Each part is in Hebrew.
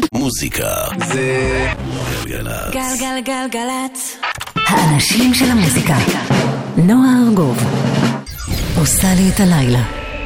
מוזיקה זה גלגלצ. גלגלגלגלצ. האנשים של המוזיקה. נועה ארגוב עושה לי את הלילה.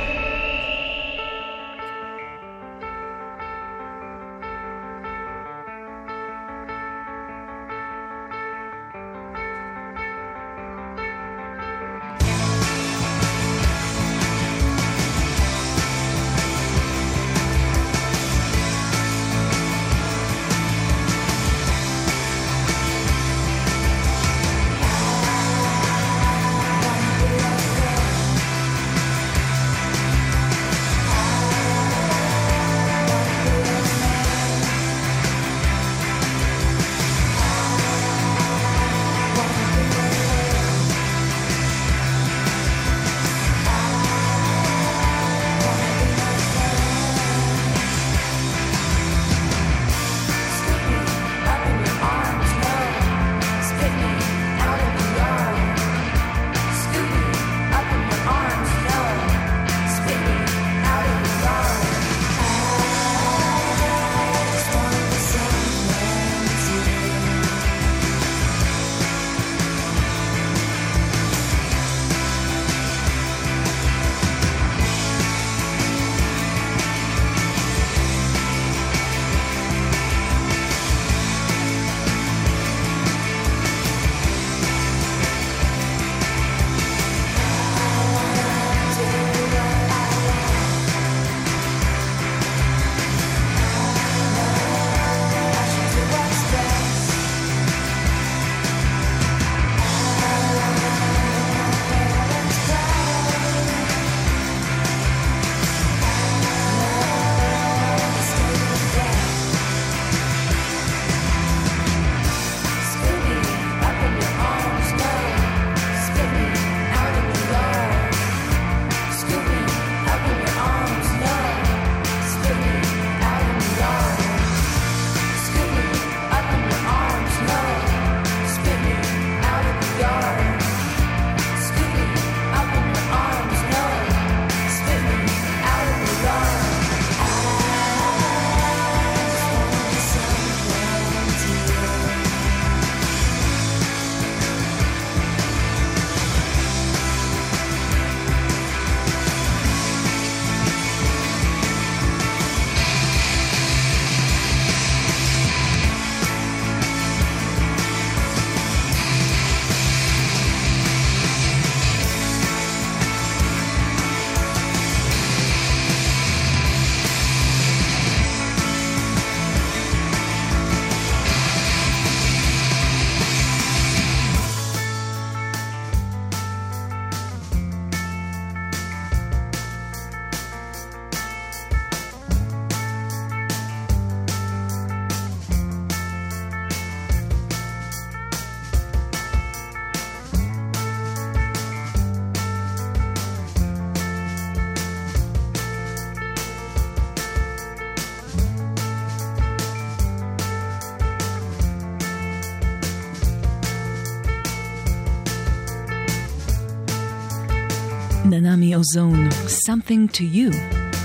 ננמי אוזון, Something to You.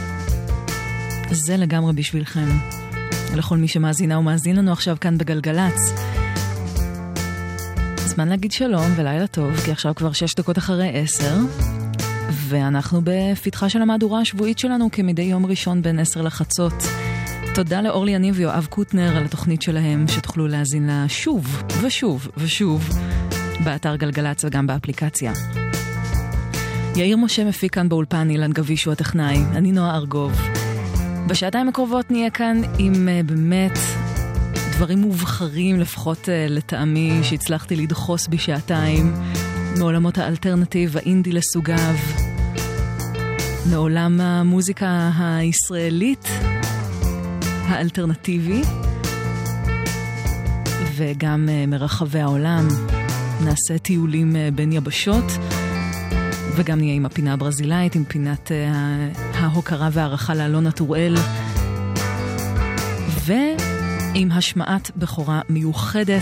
זה לגמרי בשבילכם. לכל מי שמאזינה ומאזין לנו עכשיו כאן בגלגלץ. זמן להגיד שלום ולילה טוב, כי עכשיו כבר 6 דקות אחרי 10, ואנחנו בפתחה של המהדורה השבועית שלנו כמדי יום ראשון בין 10 לחצות. תודה לאורלי יניב ויואב קוטנר על התוכנית שלהם, שתוכלו להאזין לה שוב ושוב ושוב באתר גלגלץ וגם באפליקציה. יאיר משה מפיק כאן באולפן, אילן גביש הוא הטכנאי, אני נועה ארגוב. בשעתיים הקרובות נהיה כאן עם באמת דברים מובחרים, לפחות לטעמי, שהצלחתי לדחוס בשעתיים, מעולמות האלטרנטיב, האינדי לסוגיו, מעולם המוזיקה הישראלית, האלטרנטיבי, וגם מרחבי העולם. נעשה טיולים בין יבשות, וגם נהיה עם הפינה הברזילאית, עם פינת ההוקרה והערכה לאלונה טוראל, ועם השמעת בחורה מיוחדת,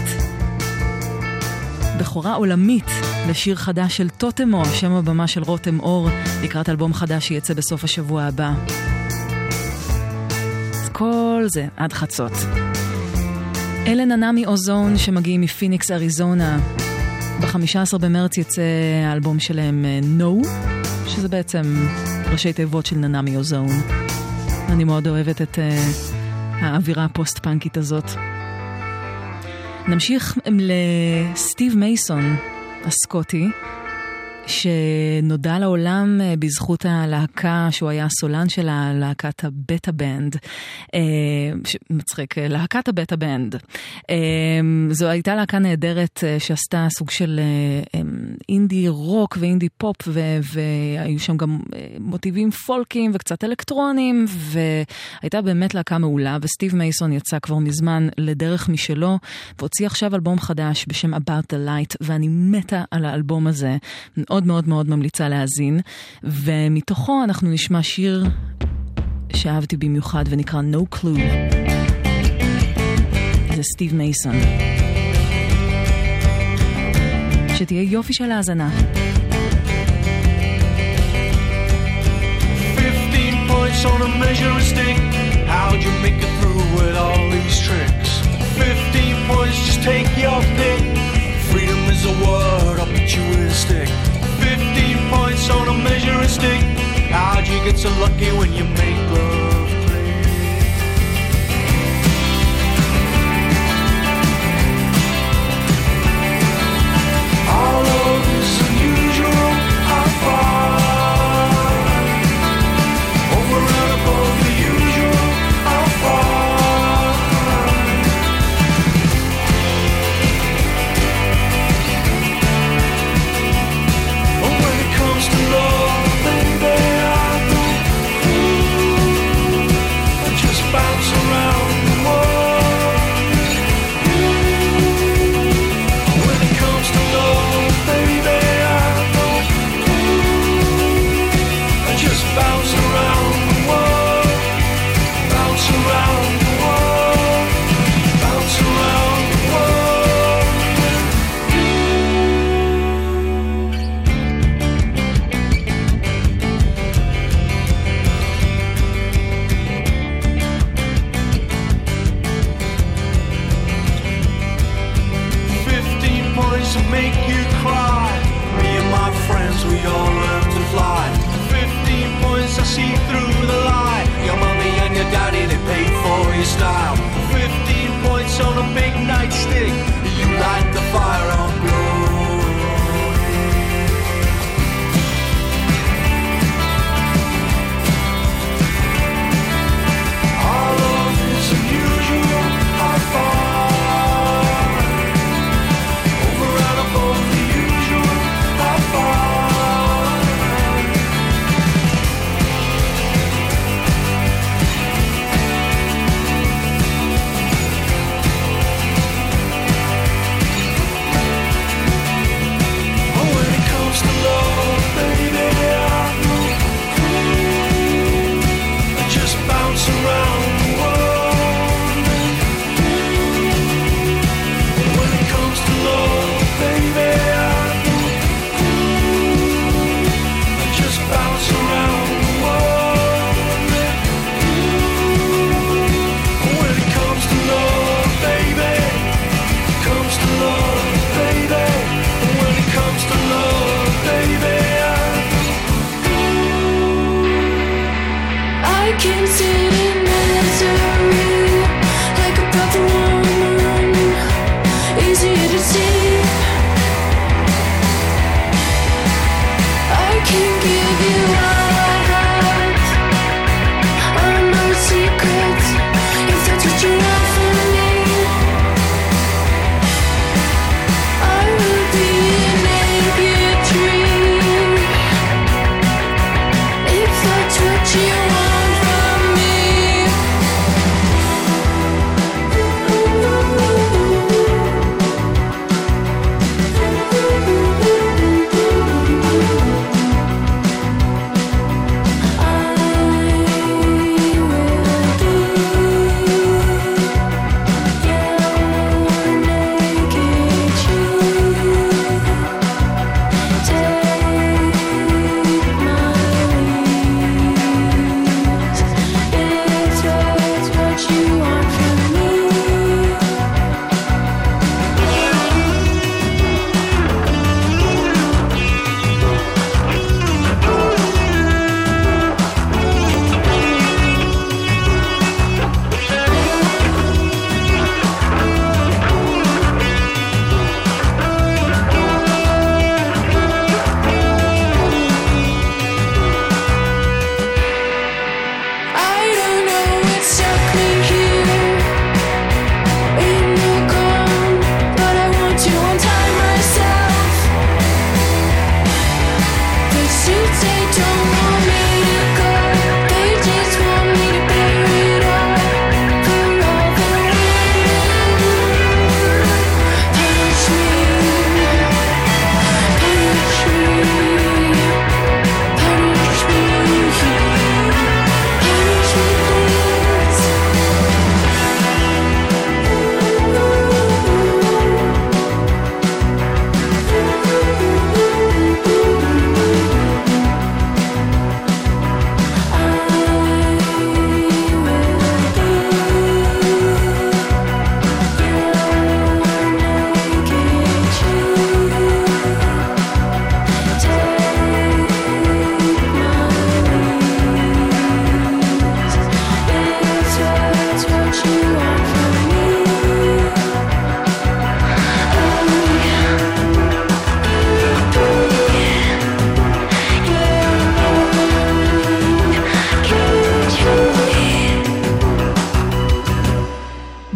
בחורה עולמית לשיר חדש של טוטמו, שם הבמה של רותם אור, לקראת אלבום חדש שיצא בסוף השבוע הבא. אז כל וכל זה עד חצות. אלה ננמי אוזון שמגיעים מפיניקס אריזונה. ב-15 במרץ יצא האלבום שלהם No, שזה בעצם ראשי תיבות של ננמי אוזון. אני מאוד אוהבת את האווירה הפוסט-פאנקית הזאת. נמשיך לסטיב מייסון הסקוטי, שנודע לעולם בזכות הלהקה שהוא היה סולן של להקת הבטה בנד, מצחיק, להקת הבטה בנד. זו הייתה להקה נהדרת שעשתה סוג של אינדי רוק ואינדי פופ, והיו שם גם מוטיבים פולקים וקצת אלקטרונים, והייתה באמת להקה מעולה, וסטיב מייסון יצא כבר מזמן לדרך משלו, והוציא עכשיו אלבום חדש בשם About the Light, ואני מתה על האלבום הזה, מאוד מאוד מאוד ממליצה להאזין, ומתוכו אנחנו נשמע שיר שאהבתי במיוחד ונקרא No Clue. זה סטיב מייסון. שתהיה יופי של האזנה. 15 points on a measuring stick. How'd you make it through with all these tricks? 15 points, just take your pick. Freedom is a word, I'll beat you with a stick. 15 points on a measuring stick. How'd you get so lucky when you make love play? All of this unusual, how far? Over and above the usual, how far? Oh, when it comes to love, baby, I go I just bounce around the world. When it comes to love, baby, I go I just bounce around the world. Bounce around the world. Bounce around the world. 15 points to make you cry. Me and my friends, we all learn to fly. 15 points I see through the lie. Your mommy and your daddy, they paid for your style. 15 points on a big nightstick. You light the fire on glory. All of this unusual, how far? Over and above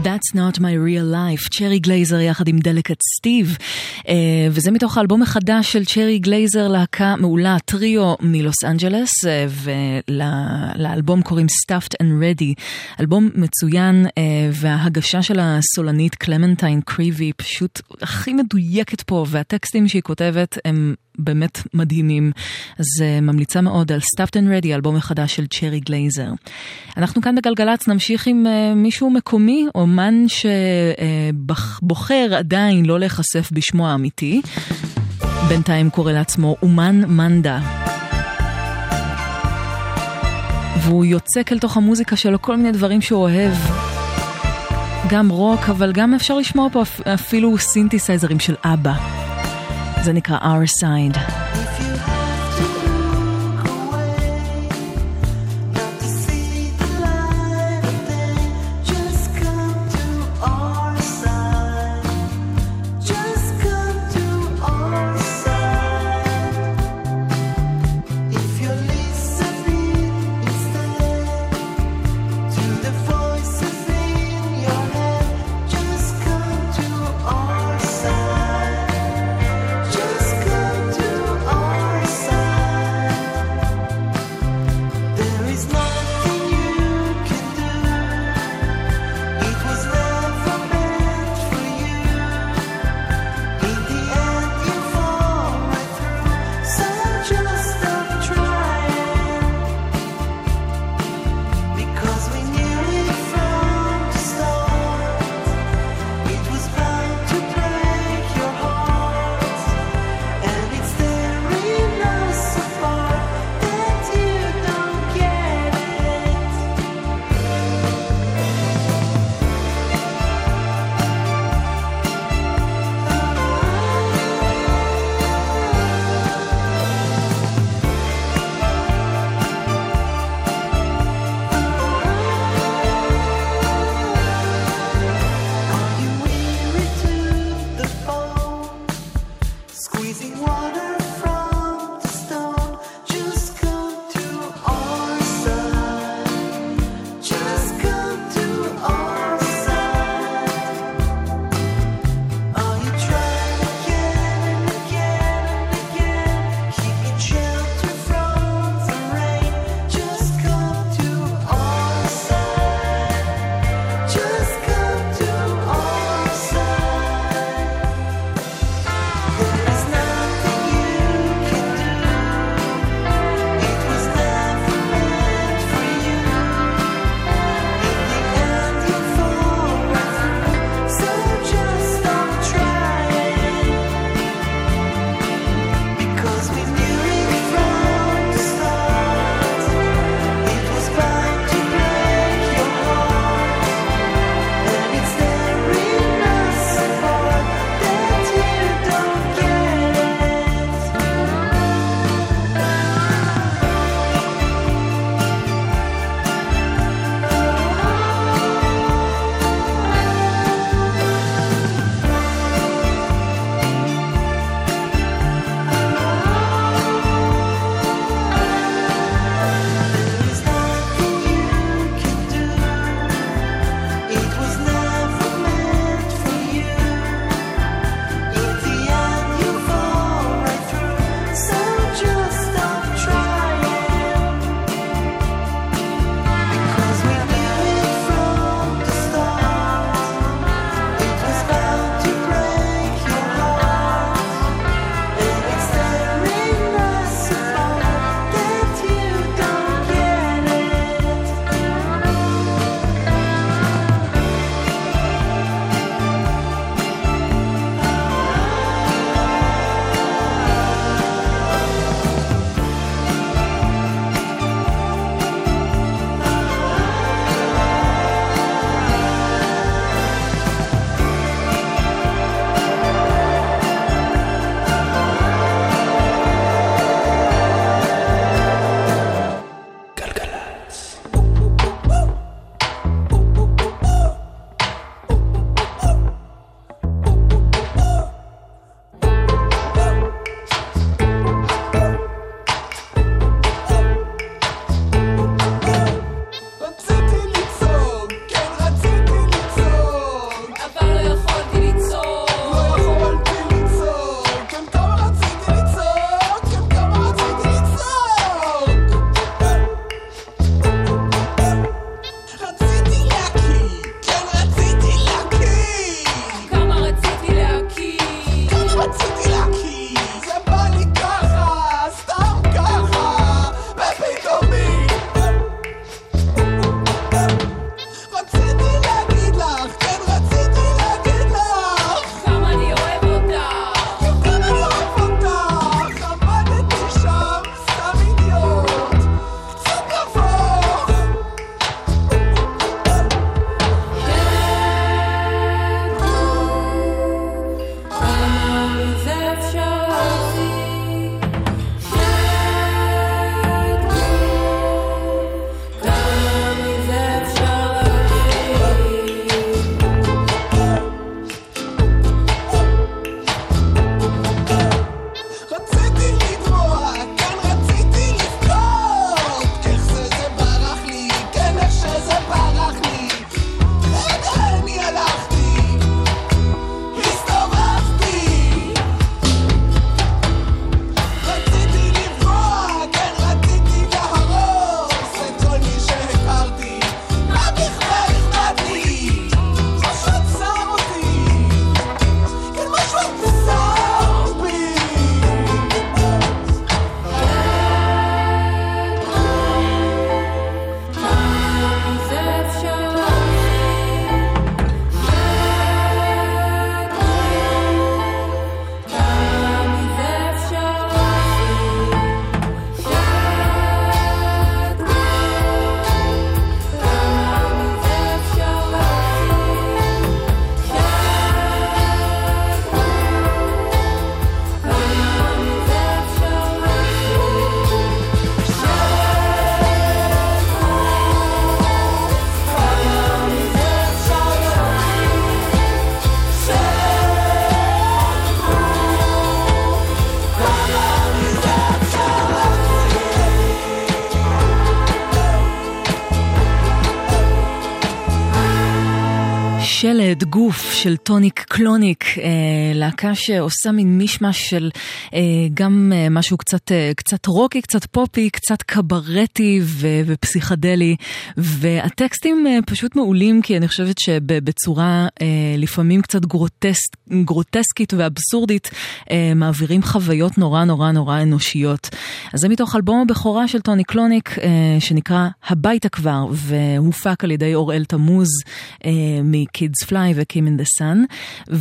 That's not my real life, צ'רי גלייזר יחד עם דלקט סטיב, וזה מתוך האלבום החדש של צ'רי גלייזר, להקה מעולה, טריו מלוס אנג'לס, ולאלבום קוראים Stuffed and Ready, אלבום מצוין, וההגשה של הסולנית קלמנטיין קריבי פשוט הכי מדויקת פה, והטקסטים שהיא כותבת הם באמת מדהימים, אז ממליצה מאוד על Stuffed and Ready, אלבום החדש של צ'רי גלייזר. אנחנו כאן בגלגלץ נמשיך עם מישהו מקומי, אומן שבוחר עדיין לא להיחשף בשמו האמיתי, בינתיים קורא לעצמו אומן מנדה, והוא יוצק אל תוך המוזיקה שלו כל מיני דברים שהוא אוהב, גם רוק, אבל גם אפשר לשמוע פה אפילו סינתסייזרים של אבא. זה נקרא Our Side. Just come to שלד, גוף של טוניק קלוניק, להקה שעושה מין מישמש של גם משהו קצת רוקי, קצת פופי, קצת קברטי ופסיכדלי, והטקסטים פשוט מעולים, כי אני חושבת שבצורה לפעמים קצת גרוטסקית ואבסורדית, מעבירים חוויות נורא נורא נורא אנושיות. אז זה מתוך אלבום הבכורה של טוניק קלוניק, שנקרא הביתה כבר, והופק על ידי אוראל תמוז, מ-Kids Fly ו-Kim in the Sun,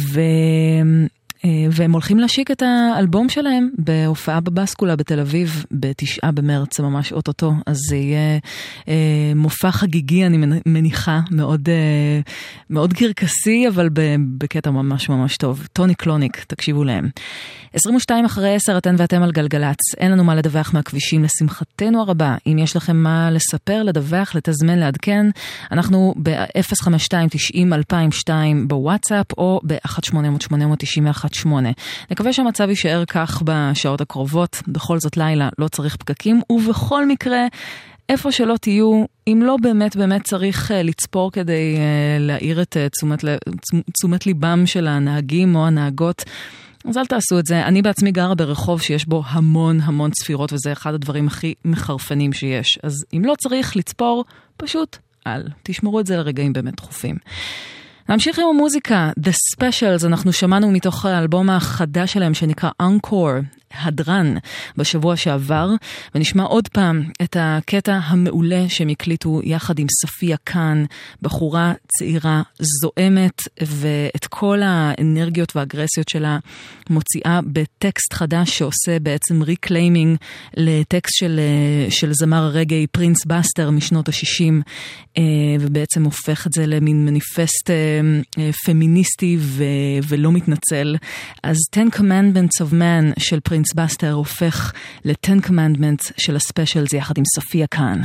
והם הולכים להשיק את האלבום שלהם בהופעה בבסקולה בתל אביב ב9 במרץ, ממש אוטוטו, אז זה יהיה מופע חגיגי, אני מניחה, מאוד, מאוד קרקסי, אבל בקטע ממש ממש טוב. טוניק קלוניק, תקשיבו להם. 22 אחרי 10, אתן ואתם על גלגלץ. אין לנו מה לדווח מהכבישים, לשמחתנו הרבה. אם יש לכם מה לספר, לדווח, לתזמן, לעדכן, אנחנו ב-052-90-2002 בוואטסאפ, או ב-1-800-891-8. נקווה שהמצב יישאר כך בשעות הקרובות. בכל זאת לילה, לא צריך פקקים, ובכל מקרה, איפה שלא תהיו, אם לא באמת צריך לצפור כדי להעיר את תשומת ליבם של הנהגים או הנהגות, אז אל תעשו את זה. אני בעצמי גרה ברחוב שיש בו המון צפירות, וזה אחד הדברים הכי מחרפנים שיש. אז אם לא צריך לצפור, פשוט תשמרו את זה לרגעים באמת דחופים. נמשיך עם המוזיקה, The Specials, אנחנו שמענו מתוך האלבום החדש שלהם שנקרא Encore, הדרן, בשבוע שעבר, ונשמע עוד פעם את הקטע המעולה שהם הקליטו יחד עם ספיה קאן, בחורה צעירה זועמת, ואת כל האנרגיות והאגרסיות שלה מוציאה בטקסט חדש שעושה בעצם ריקליימינג לטקסט של זמר הרגעי פרינס בסטר משנות ה-60, ובעצם הופך את זה למין מניפסט פמיניסטי ולא מתנצל. אז 10 Commandments of Man של פרינס בסטר הופך ל-10 Commandments של הספיישלס יחד עם ספיה קאן.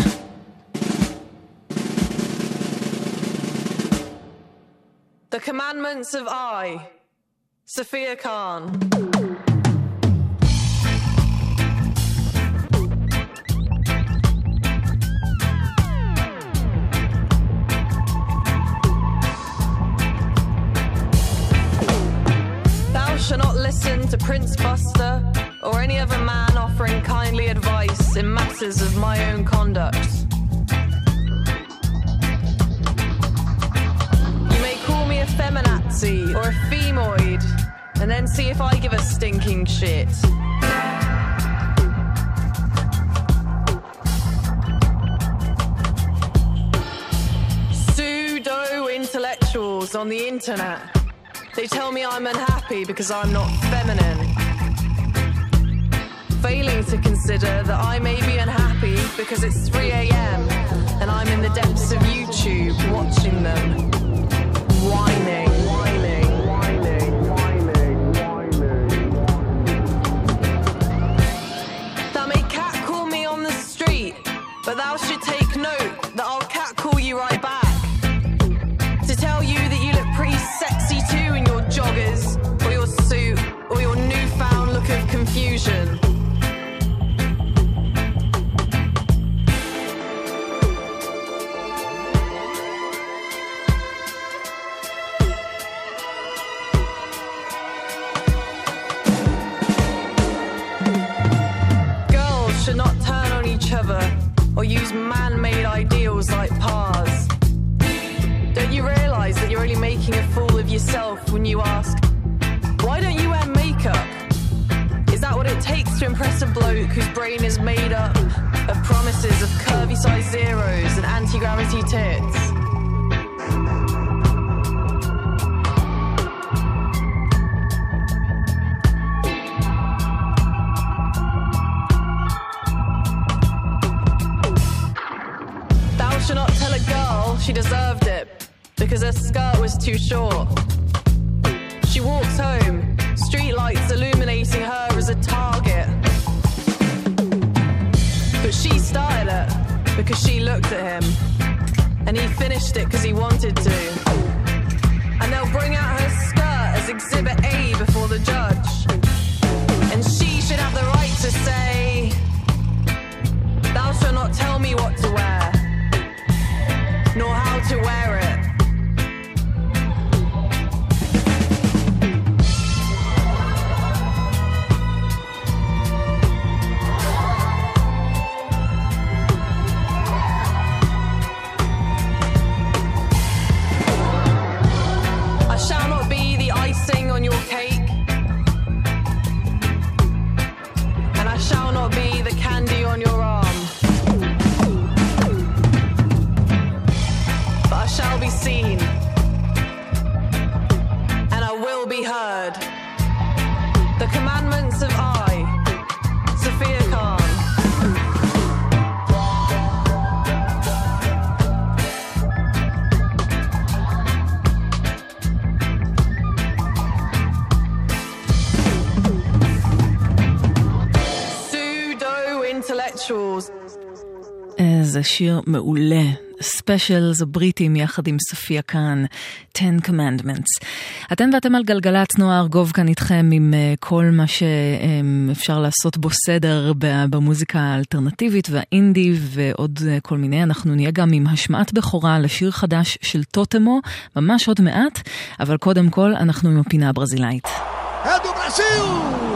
The Commandments of I, Sophia Khan. Shall not listen to Prince Buster or any other man offering kindly advice in matters of my own conduct. You may call me a feminazi or a femoid, and then see if I give a stinking shit. Pseudo-intellectuals on the internet, they tell me I'm unhappy because I'm not feminine, failing to consider that I may be unhappy because it's 3 a.m. and I'm in the depths of YouTube watching them whining. Thou may catcall me on the street, but thou should take note that I'll catcall you right back to tell you that you look pretty sexy too in your joggers or your suit or your newfound look of confusion. Girls should not turn on each other or use man-made ideals like pars. Don't you realize that you're only making a fool of yourself when you ask, why don't you wear makeup? Is that what it takes to impress a bloke whose brain is made up of promises of curvy size zeros and anti-gravity tits? Thou shalt not tell a girl she deserved it because her skirt was too short. She walks home, streetlights illuminating her as a target. But she started it because she looked at him, and he finished it because he wanted to. And they'll bring out her skirt as Exhibit A before the judge. And she should have the right to say, thou shalt not tell me what to wear, nor how to wear it. זה שיר מעולה. ספיישלס הבריטים יחד עם סופיה קאן, 10 Commandments. אתם ואתם על גלגלת, נועה ארגוב כאן איתכם עם כל מה שאפשר לעשות בו סדר במוזיקה האלטרנטיבית והאינדי ועוד כל מיני. אנחנו נהיה גם עם השמעת בכורה לשיר חדש של טוטמו, ממש עוד מעט, אבל קודם כל אנחנו עם הפינה הברזילאית. אדו ברזיל!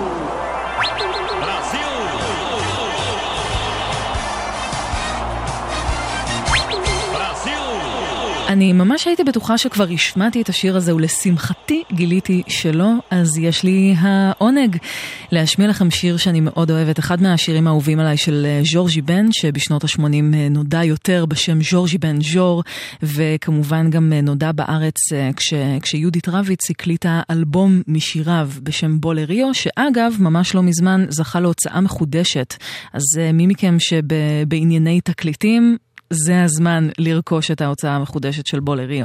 אני ממש הייתי בטוחה שכבר השמעתי את השיר הזה, ולשמחתי גיליתי שלא, אז יש לי העונג להשמיע לכם שיר שאני מאוד אוהבת, אחד מהשירים האהובים עליי של ז'ורג'י בן, שבשנות ה-80 נודע יותר בשם ז'ורג'י בן ז'ור, וכמובן גם נודע בארץ כשיהודית רביץ הקליטה אלבום משיריו בשם בולריו, שאגב ממש לא מזמן זכה להוצאה מחודשת, אז מי מכם שבענייני תקליטים, זה הזמן לרכוש את ההוצאה המחודשת של בולריו.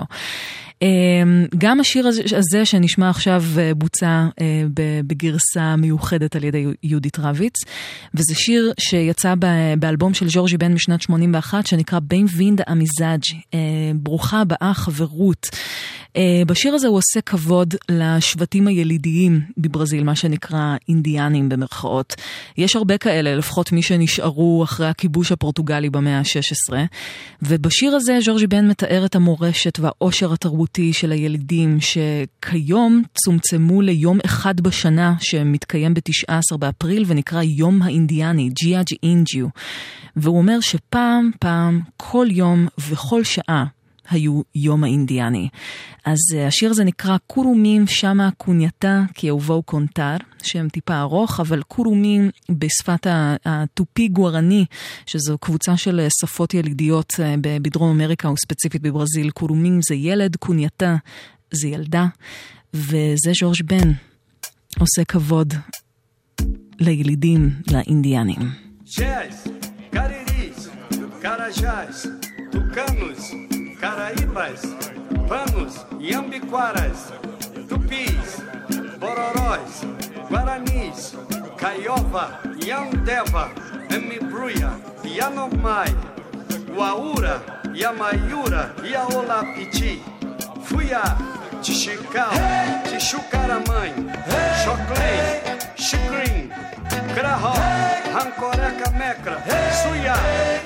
גם השיר הזה שנשמע עכשיו בוצע בגרסה מיוחדת על ידי יהודית רביץ, וזה שיר שיצא באלבום של ז'ורג'י בן משנת 81 שנקרא בן-וינד אמיזאג', ברוכה הבאה חברות. בשיר הזה הוא עושה כבוד לשבטים הילידיים בברזיל, מה שנקרא אינדיאנים במרכאות. יש הרבה כאלה, לפחות מי שנשארו אחרי הכיבוש הפורטוגלי במאה ה-16, ובשיר הזה ז'ורג'י בן מתאר את המורשת והעושר התרבותי של הילידים, שכיום צומצמו ליום אחד בשנה שמתקיים ב-19 באפריל ונקרא יום האינדיאני, ג'יאג' אינג'יו. והוא אומר שפעם, כל יום וכל שעה היו יום האינדיאני. אז השיר הזה נקרא קורומים שמה קונייתה כי אהובו קונטר, שם טיפה ארוך, אבל קורומים בשפת הטופי גוארני, שזו קבוצה של שפות ילידיות בדרום אמריקה וספציפית בברזיל. קורומים זה ילד, קונייתה זה ילדה, וזה ז'ורג' בן עושה כבוד לילידים, לאינדיאנים. Chés, cariris, carajás, tucanos, caraíbas, panos, iambiquaras, tupis, bororós, guaranis, caiova, iandeva, emibruia, yanomai, uaura, yamaiura, iaolapiti, fuiá, tixical, tixucaramãe, choclei, xicrim, crahó, rancoreca mecra, suiá.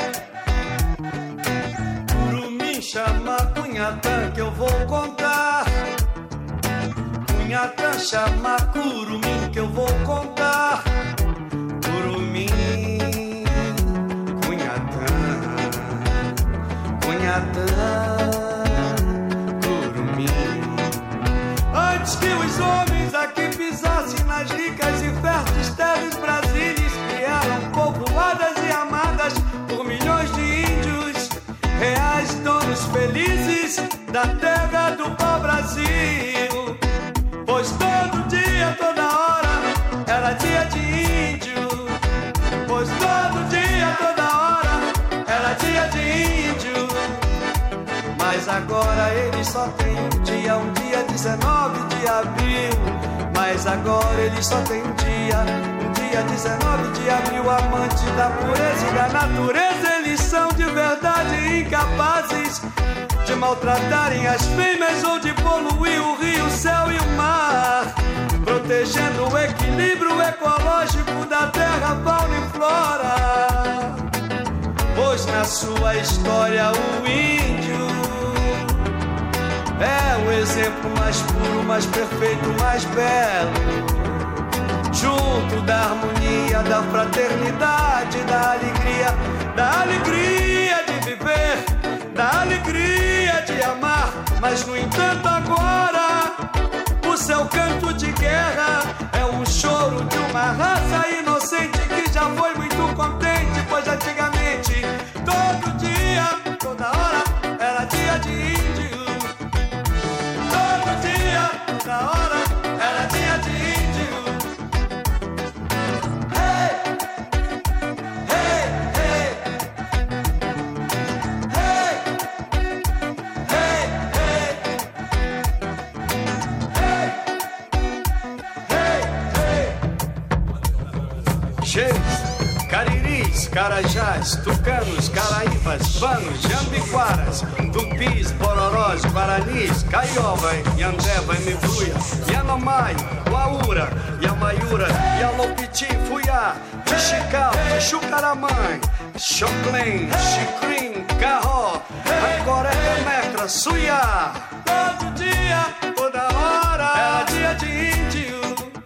Chama Cunhatã que eu vou contar. Cunhatã chama Curumim que eu vou contar. Curumim, Cunhatã, Cunhatã, Curumim. Antes que os homens aqui pisassem nas ricas e férteis terras brasílias, que eram povoadas e amadas por milhões de índios, reais donos felizes da terra do pau-brasil. Pois todo dia, toda hora, era dia de índio. Pois todo dia, toda hora, era dia de índio. Mas agora eles só tem um dia 19 de abril. Mas agora eles só tem um dia 19 de abril. Amante da pureza e da natureza, eles são de verdade incapazes de maltratarem as fêmeas ou de poluir o rio, o céu e o mar, protegendo o equilíbrio ecológico da terra, fauna e flora. Pois na sua história o índio é o exemplo mais puro, mais perfeito, mais belo, junto da harmonia, da fraternidade, da alegria de viver, da alegria de amar. Mas no entanto agora o seu canto de guerra é um choro de uma raça inocente que já foi muito contente, pois antigamente todo dia, toda hora era dia de índio. Todo dia, toda hora era dia de índio. Cheios, cariris, Reis, Carajás, Tucanos, Caraíbas, Vanos, Jambiquaras, Tupis, Bororós, Guaranis, Caiova, Yandeva, Mibuia, Yanomai, Laura, Yamaiura, Yalopiti, Fuyá, Tixical, Chucaramãe, Choclen, Chicrim, Carró, Ancoré, Metra, Suiá. Todo dia, toda hora, era dia de índio.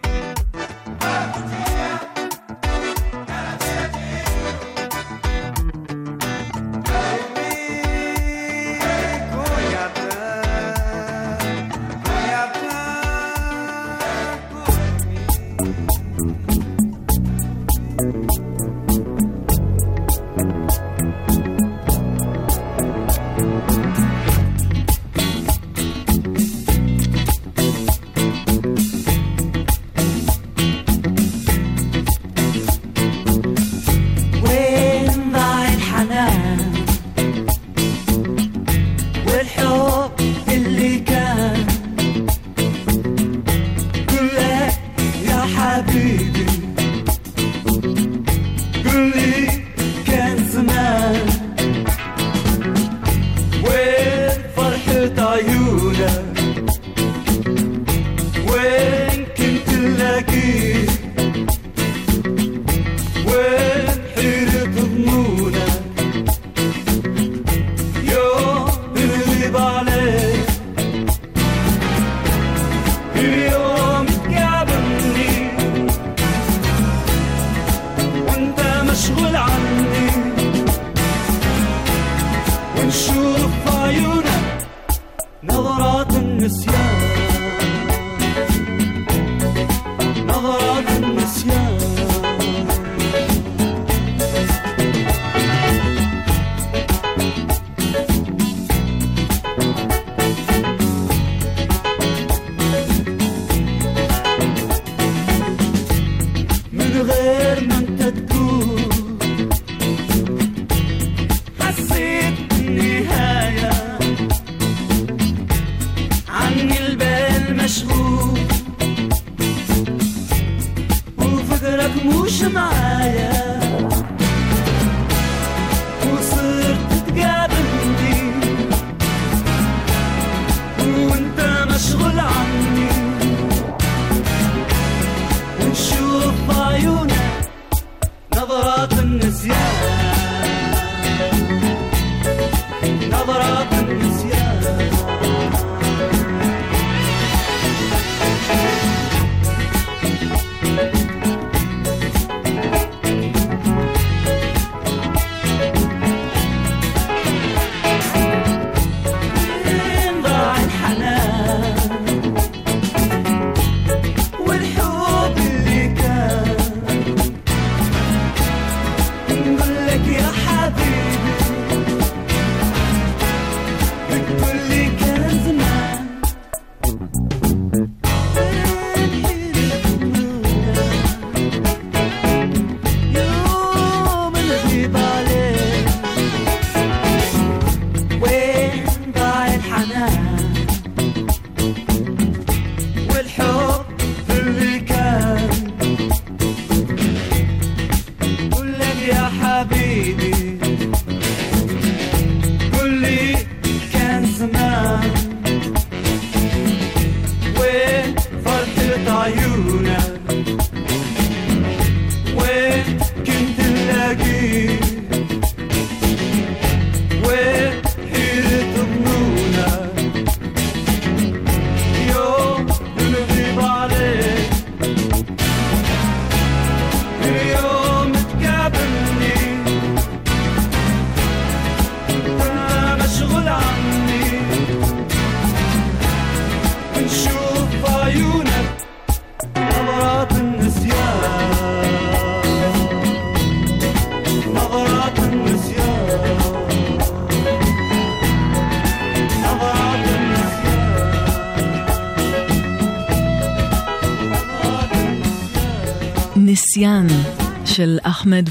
נסיין של אחמד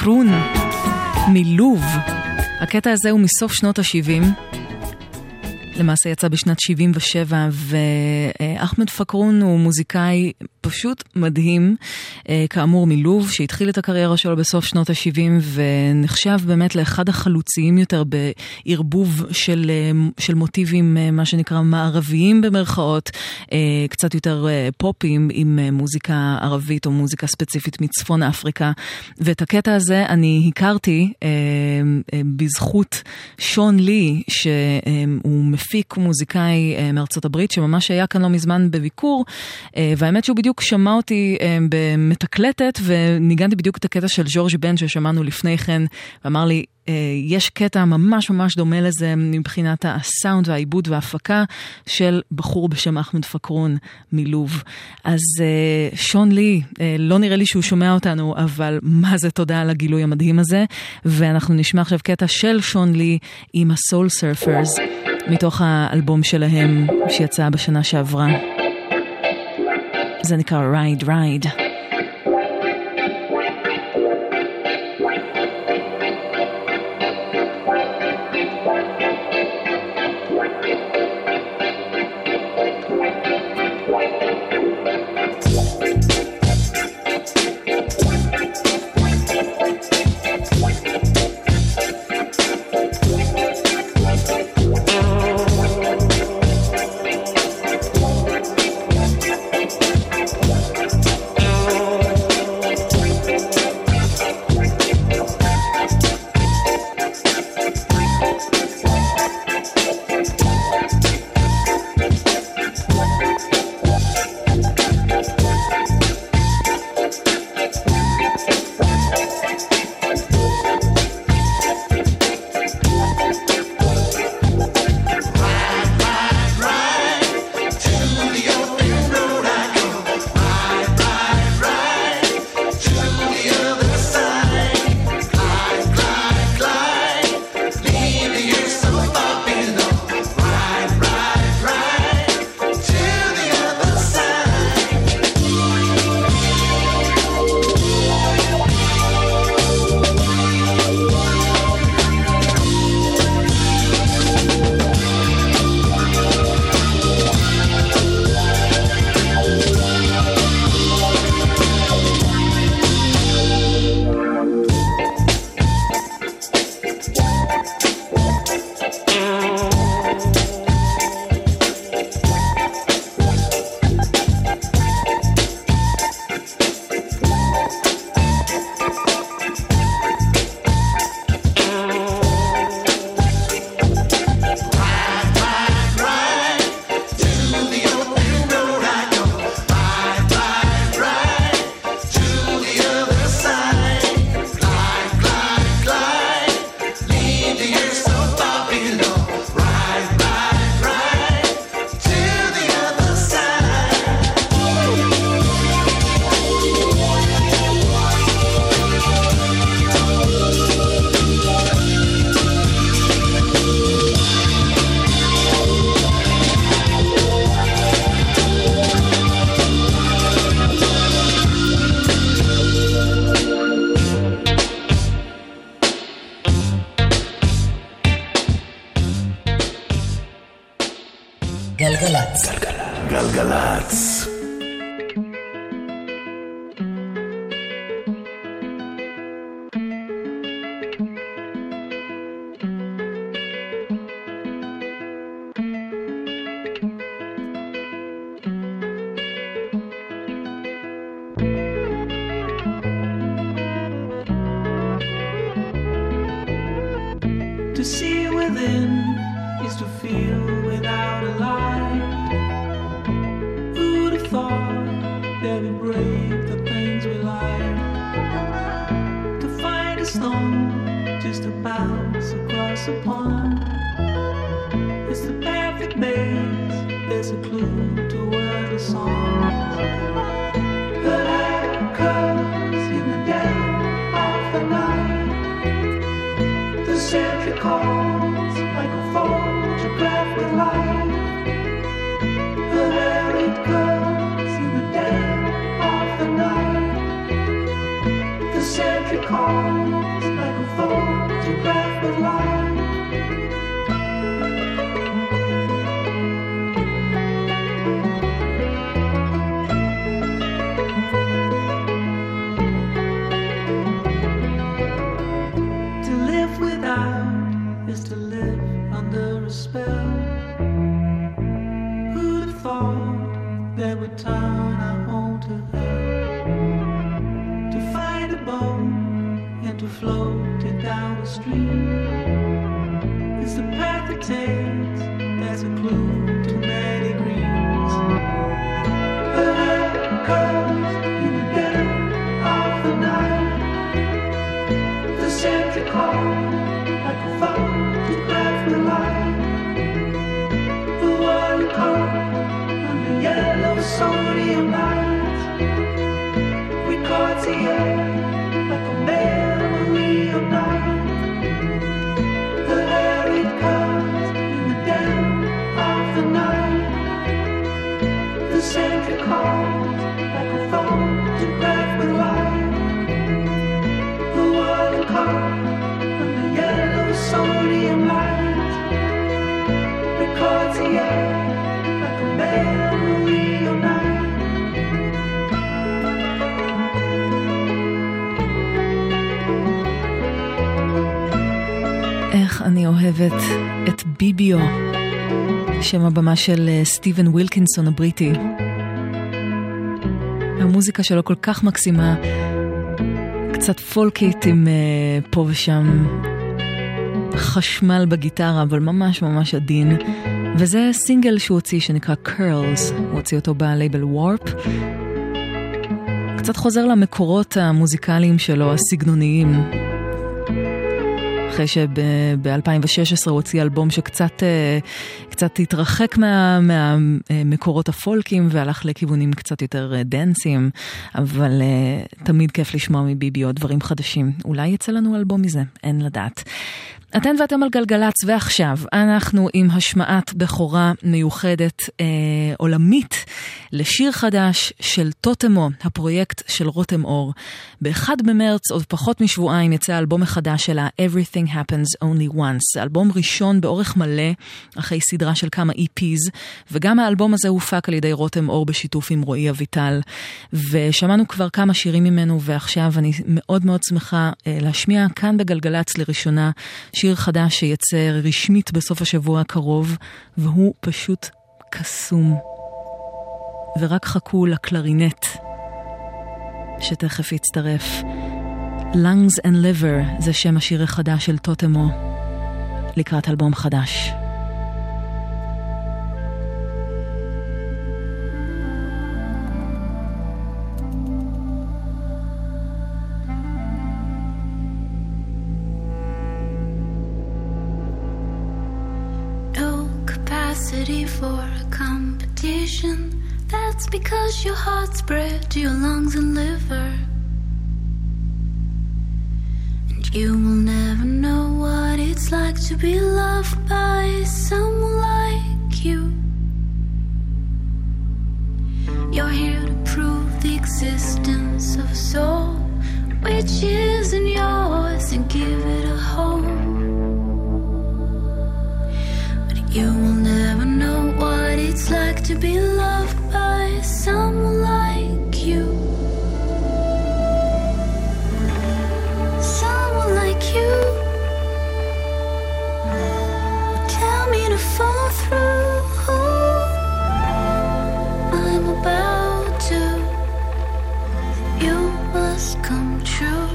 פקרון מלוב. הקטע הזה הוא מסוף שנות ה-70. למעשה יצא בשנת 77, ואחמד פקרון הוא מוזיקאי פשוט מדהים, כאמור מלוב, שהתחיל את הקריירה שלו בסוף שנות ה-70, ונחשב באמת לאחד החלוציים יותר בערבוב של מוטיבים, מה שנקרא מערביים במרכאות, קצת יותר פופים עם מוזיקה ערבית או מוזיקה ספציפית מצפון אפריקה. ואת הקטע הזה אני הכרתי בזכות שון לי, שהוא מפיק מוזיקאי מארצות הברית, שממש היה כאן לא מזמן בביקור, והאמת שהוא בדיוק שמע אותי במתקלטת, וניגנתי בדיוק את הקטע של ז'ורג' בן ששמענו לפני כן, ואמר לי, יש קטע ממש ממש דומה לזה מבחינת הסאונד והעיבוד וההפקה של בחור בשם אחמד פקרון מלוב. אז שון לי, לא נראה לי שהוא שומע אותנו, אבל מה זה תודה על הגילוי המדהים הזה, ואנחנו נשמע עכשיו קטע של שון לי עם הסול סרפרס, מתוך האלבום שלהם שיצא בשנה שעברה. זה נקרא רייד רייד. גלגלצ. גלגלצ. To see within is to feel without a light. Who'd have thought that we break the things we like? To find a stone just to bounce across a pond. It's the perfect maze, there's a clue to where the song. The light comes in the dead of the night. The sentry calls like a that would turn our home to hell. To find a boat and to float it down the stream. It's the path it takes, that's a clue to many dreams. The head comes in the dead of the night. The Santa Claus like a photograph with light. The world caught on the yellow sodium lights. Records the air like a memory of night. The air it comes in the dead of the night. The Santa Claus like a photograph with light. The world caught on the yellow sodium lights. Records the air like a memory of night. איך אני אוהבת את ביביו, שם הבמה של סטיבן ווילקינסון הבריטי. המוזיקה שלו כל כך מקסימה, קצת פולקית עם פה ושם חשמל בגיטרה, אבל ממש ממש עדין. וזה סינגל שהוא הוציא שנקרא Curls, הוא הוציא אותו בלייבל Warp. קצת חוזר למקורות המוזיקליים שלו, הסגנוניים. אחרי שב-2016 הוא הוציא אלבום שקצת התרחק מהמקורות הפולקים והלך לכיוונים קצת יותר דנסים, אבל תמיד כיף לשמוע מביבי עוד דברים חדשים. אולי יצא לנו אלבום מזה, אין לדעת. אתן ואתם על גלגלץ, ועכשיו אנחנו עם השמעת בכורה מיוחדת עולמית לשיר חדש של טוטמו, הפרויקט של רותם אור. ב-1 במרץ, עוד פחות משבועיים, יצא אלבום מחדש שלה, Everything Happens Only Once. אלבום ראשון באורך מלא, אחרי סדרה של כמה EPs, וגם האלבום הזה הופק על ידי רותם אור בשיתוף עם רועי אביטל. ושמענו כבר כמה שירים ממנו, ועכשיו אני מאוד מאוד שמחה להשמיע כאן בגלגלץ לראשונה שיר חדש שיצא רשמית בסוף השבוע הקרוב, והוא פשוט קסום. ורק חכו לקלרינט שתכף יצטרף. Lungs and Liver זה שם השיר החדש של טוטמו לקראת אלבום חדש. For a competition, that's because your heart's bred to your lungs and liver, and you will never know what it's like to be loved by someone like you. You're here to prove the existence of a soul which isn't yours and give it a home. You will never know what it's like to be loved by someone like you. Someone like you would tell me to fall through. I'm about to. You must come true.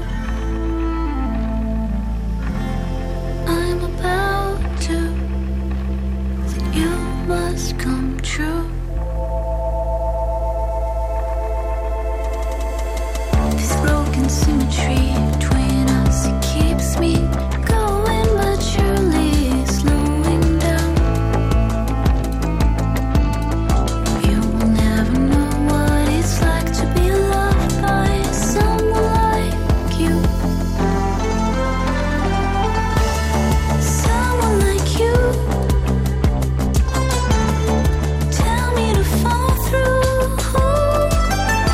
I'm about to. You must come true. This broken symmetry between us, it keeps me going, but surely slowing down. You will never know what it's like to be loved by someone like you. Someone like you.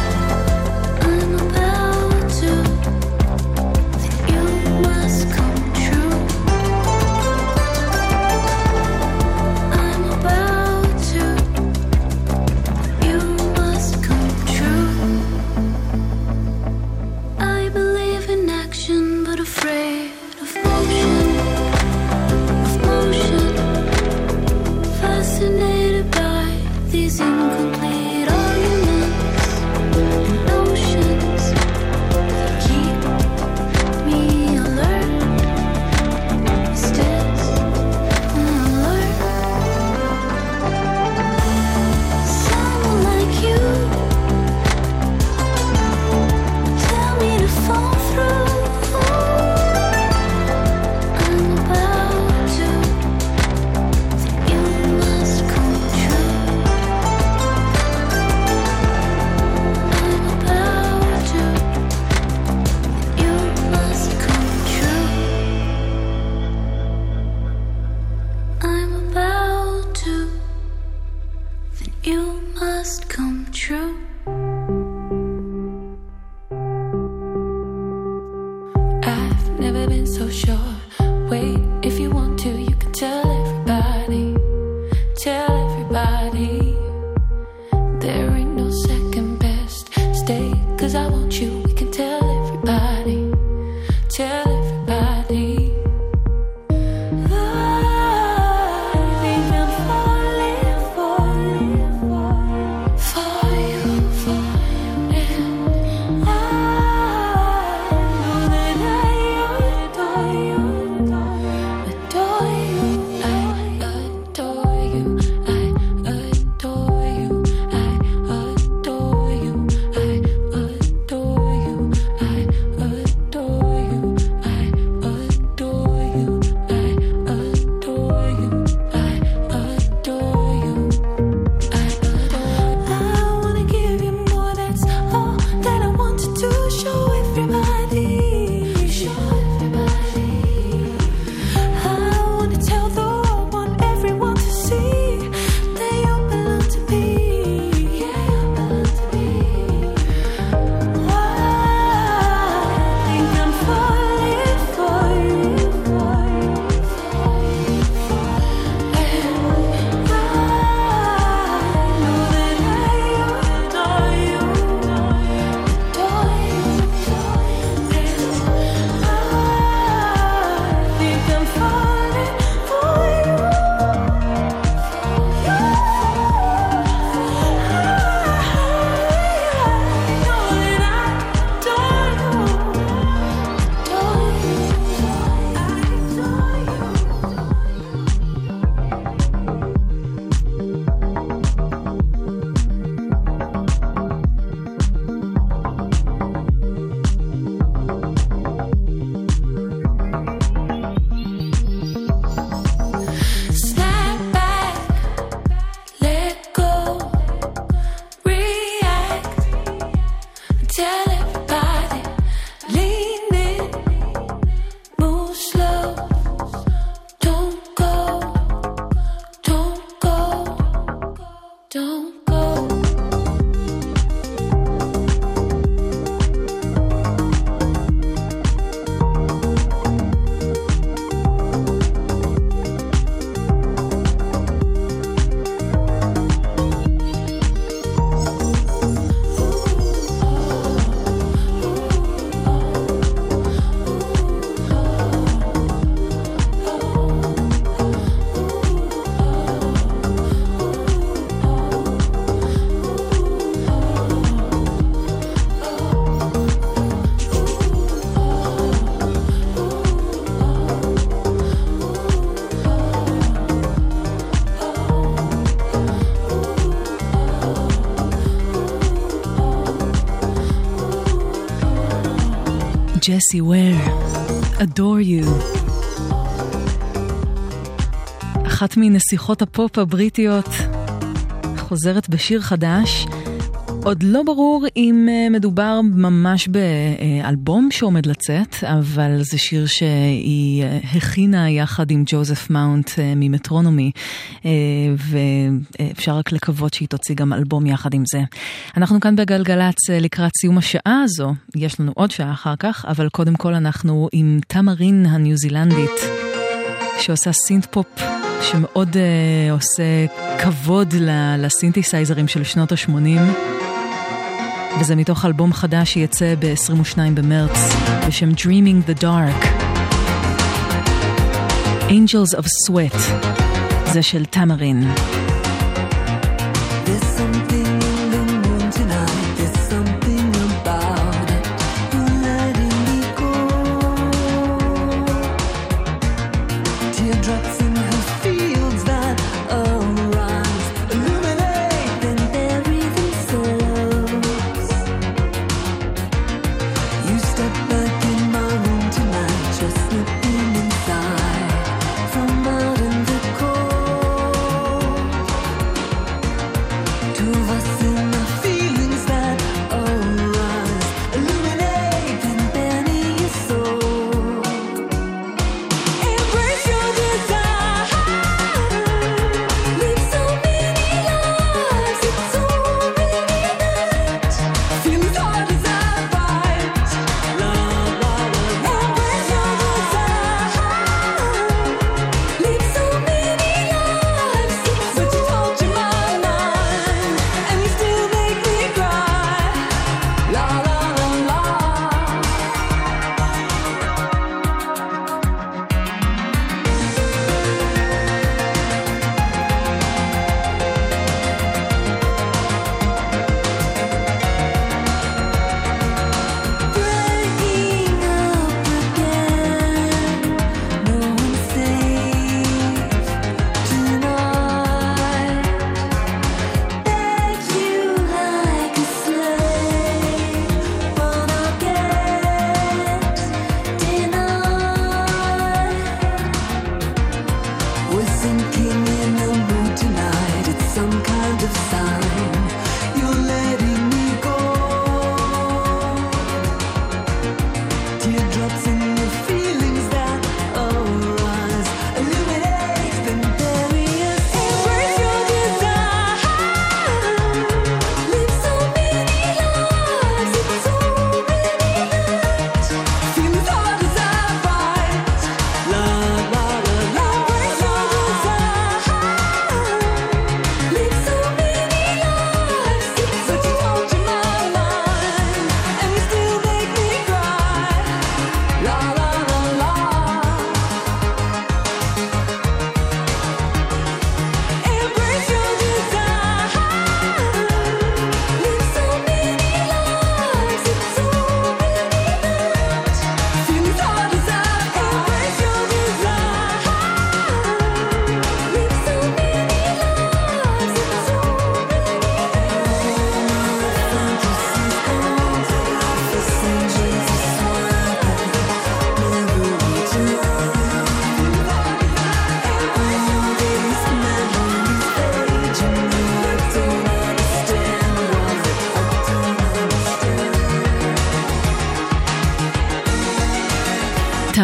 Come must come true. I've never been so sure. Wait, if you want to, you can tell everybody. Tell everybody. There ain't no second best. Stay, 'cause I want you. We can tell everybody. Tell everybody. Jessie Ware, Adore You. אחת מנסיכות הפופ הבריטיות חוזרת בשיר חדש. עוד לא ברור אם מדובר ממש באלבום שעומד לצאת, אבל זה שיר שהיא הכינה יחד עם ג'וזף מאונט ממטרונומי, ואפשר רק לקוות שהיא תוציא גם אלבום יחד עם זה. אנחנו כאן בגלגלץ לקראת סיום השעה הזו, יש לנו עוד שעה אחר כך, אבל קודם כל אנחנו עם תמרין הניו זילנדית, שעושה סינט פופ שמאוד עושה כבוד לסינתסייזרים של שנות ה-80, וזה מתוך אלבום חדש שיצא ב-22 במרץ בשם Dreaming the Dark. Angels of Sweat, זה של תמרין. It's so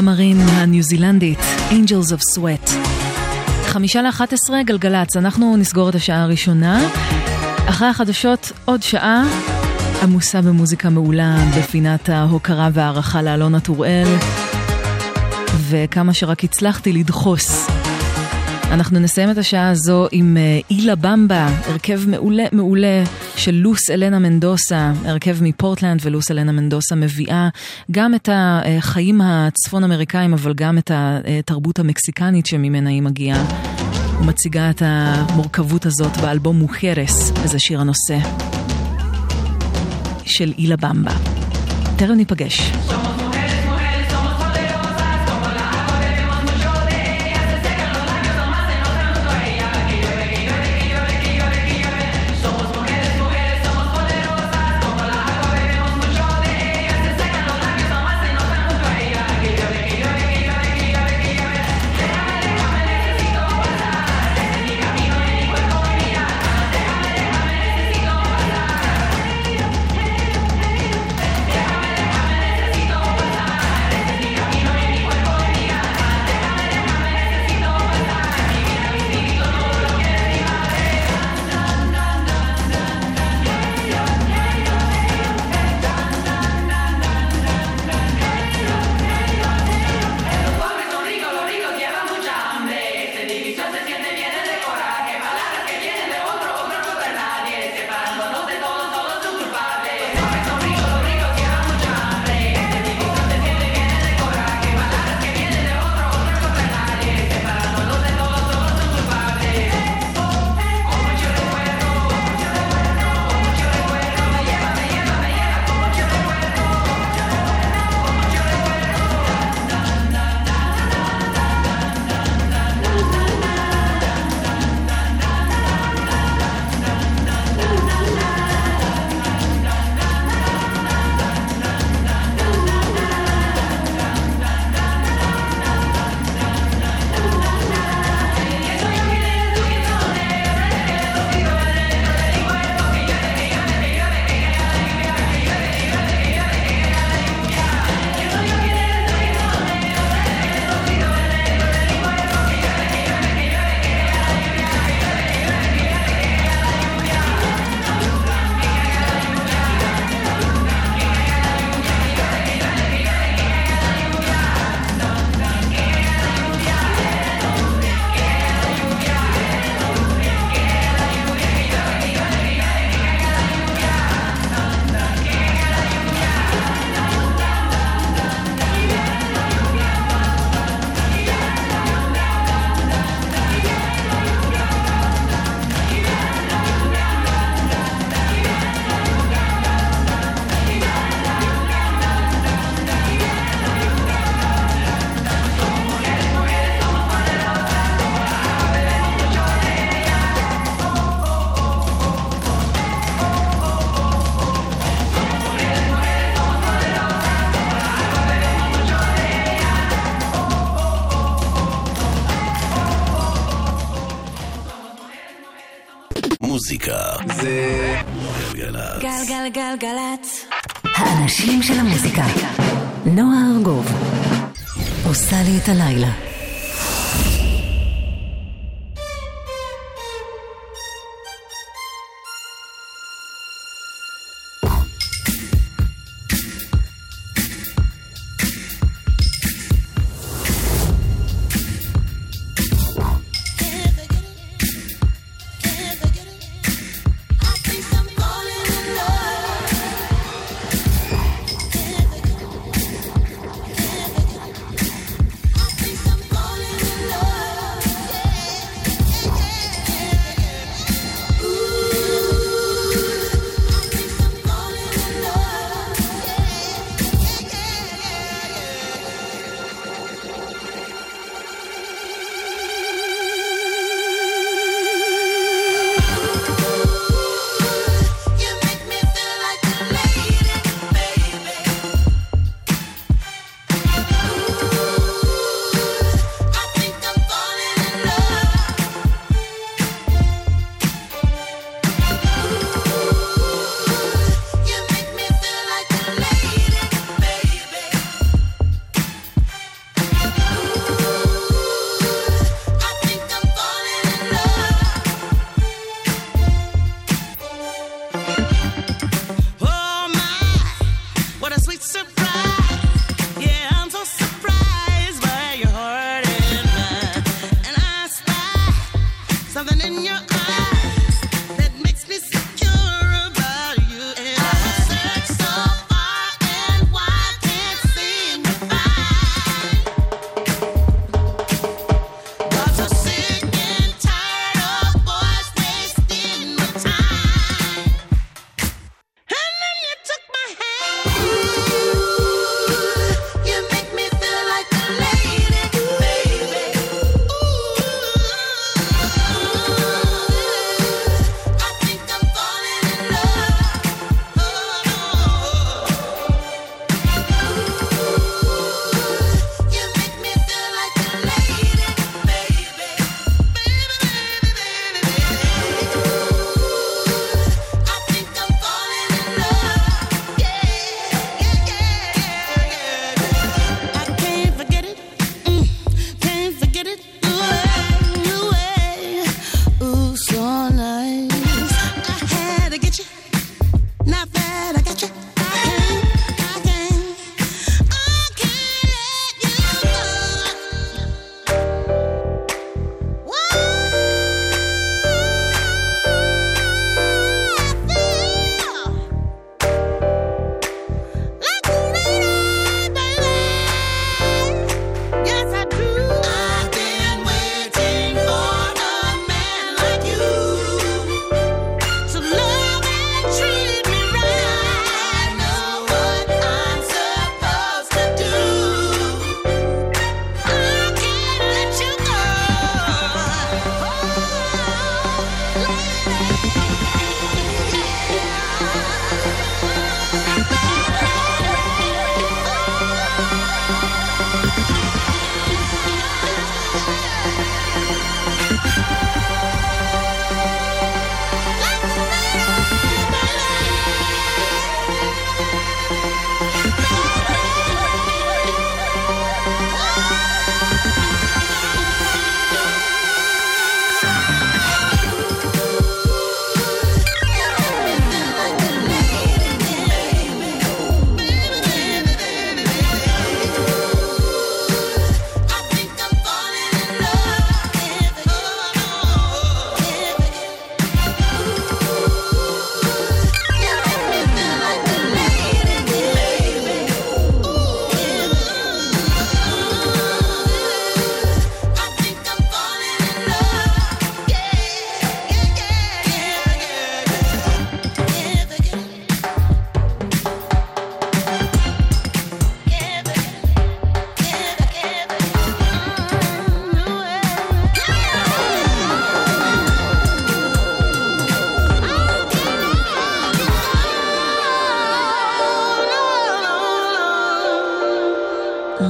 המרין הניו זילנדית, Angels of Sweat. 10:55 גלגלץ, אנחנו נסגור את השעה הראשונה. אחרי החדשות עוד שעה עמוסה במוזיקה מעולה בפינת ההוקרה והערכה לאלונה טוראל, וכמה שרק הצלחתי לדחוס. אנחנו נסיים את השעה הזו עם אילה במבה, הרכב מעולה של לוס אלנה מנדוסה, הרכב מפורטלנד, ולוס אלנה מנדוסה מביאה גם את החיים הצפון אמריקאים, אבל גם את התרבות המקסיקנית שממנה היא מגיעה. ומציגה את המורכבות הזאת באלבום מוחרס, וזה שיר הנושא של אילה במבה. תכף ניפגש. מוזיקה זה גלגלצ. גלגלגלגלצ. האנשים של המוזיקה. נועה ארגוב עושה לי את הלילה. Some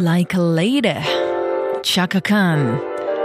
Like a Lady, צ'קה קאן.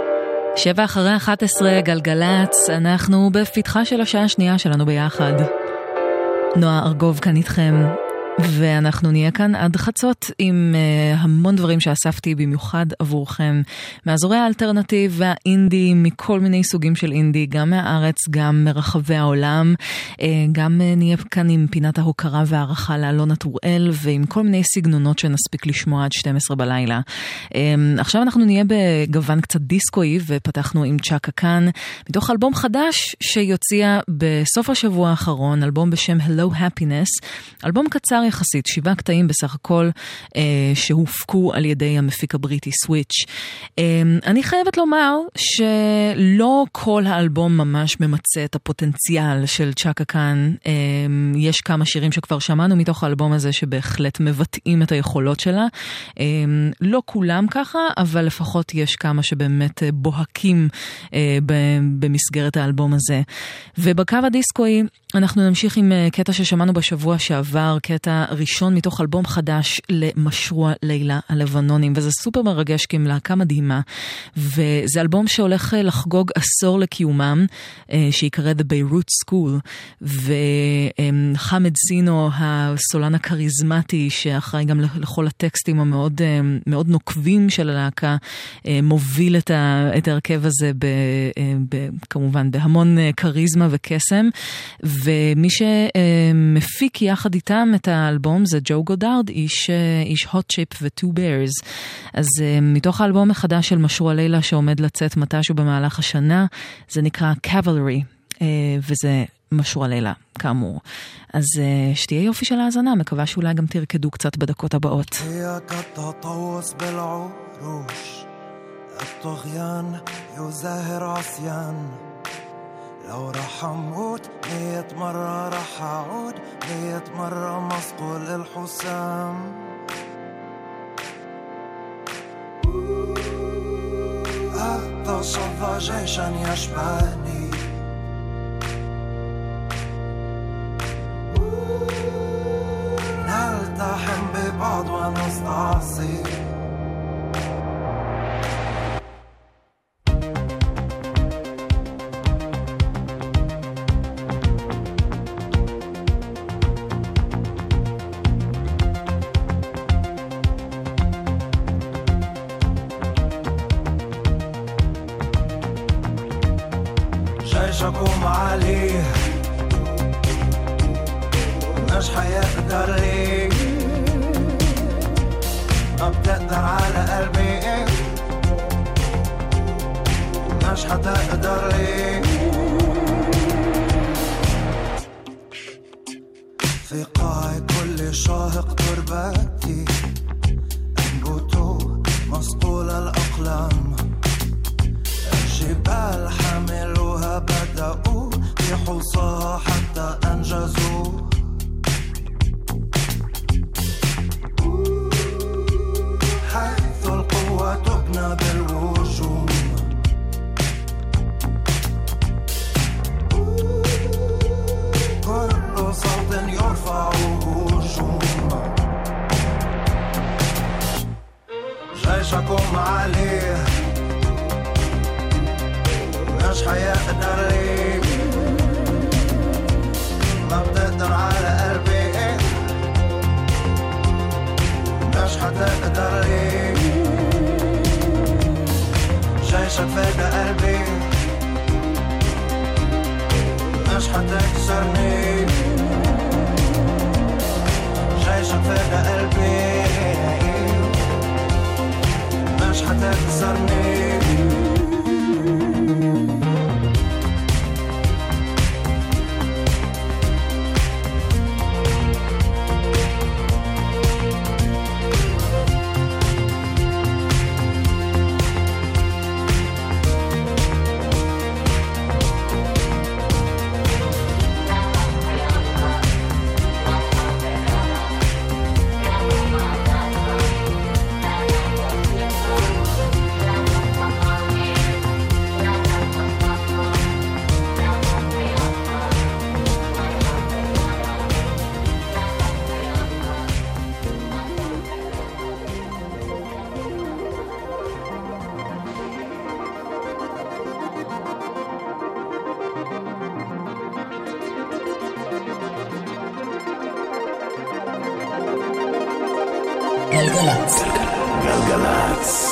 7:11 גלגלץ, אנחנו בפתחה של השעה השנייה שלנו ביחד. נועה ארגוב כאן איתכם, ואנחנו נהיה כאן עד חצות עם המון דברים שאספתי במיוחד עבורכם, מאזורי האלטרנטיב והאינדי, מכל מיני סוגים של אינדי, גם מהארץ, גם מרחבי העולם. גם נהיה כאן עם פינת ההוקרה והערכה לאלונה טוראל, ועם כל מיני סגנונות שנספיק לשמוע עד 12 בלילה. עכשיו אנחנו נהיה בגוון קצת דיסקואי, ופתחנו עם צ'קה קאן, מתוך אלבום חדש שיוציע בסוף השבוע האחרון, אלבום בשם Hello Happiness, אלבום קצר יחסית, 7 קטעים בסך הכל, שהופקו על ידי המפיק הבריטי סוויץ'. אני חייבת לומר שלא כל האלבום ממש ממצא את הפוטנציאל של צ'קה קאן. יש כמה שירים שכבר שמענו מתוך האלבום הזה שבהחלט מבטאים את היכולות שלה. לא כולם ככה, אבל לפחות יש כמה שבאמת בוהקים במסגרת האלבום הזה. ובקו הדיסקואי אנחנו נמשיך עם קטע ששמענו בשבוע שעבר, קטע ראשון מתוך אלבום חדש למשרוע לילה הלבנונים, וזה סופר מרגש כי הם להקה מדהימה, וזה אלבום שהולך לחגוג עשור לקיומם, שיקרא The Beirut School, וחמד זינו, הסולן הקריזמטי, שאחראי גם לכל הטקסטים המאוד מאוד נוקבים של הלהקה, מוביל את ההרכב הזה כמובן בהמון קריזמה וקסם, ומי שמפיק יחד איתם את האלבום זה ג'ו גודארד, איש Hot Chip ו-Two Bears. אז מתוך האלבום החדש של משרוע לילה שעומד לצאת מתישהו במהלך השנה, זה נקרא Cavalry, וזה משרוע לילה כאמור. אז שתהיה יופי של האזנה, מקווה שאולי גם תרקדו קצת בדקות הבאות. الطغيان يزاهر عصيان لو رح أموت 100 مرة رح أعود 100 مرة مصقول الحسام أتصفى جيشا يشبهني نلتحم ببعض ونستعصي جيشكم عليه مش حيقدر لي ما بتقدر على قلبي مش حتقدر لي في قاع كل شاهق تربتي انبتوا مصقول الأقلام الجبال حملوها بدأوا يحوصها حتى أنجزوا حيث القوة تبنى بالهجوم كل صوت يرفع هجوم جيشكم عليه مش حيقدر لي ما بتقدر على قلبي مش حتقدر لي جيشك فاق قلبي مش حتكسرني جيشك فاق قلبي مش حتكسرني גלגלצ. גלגלצ.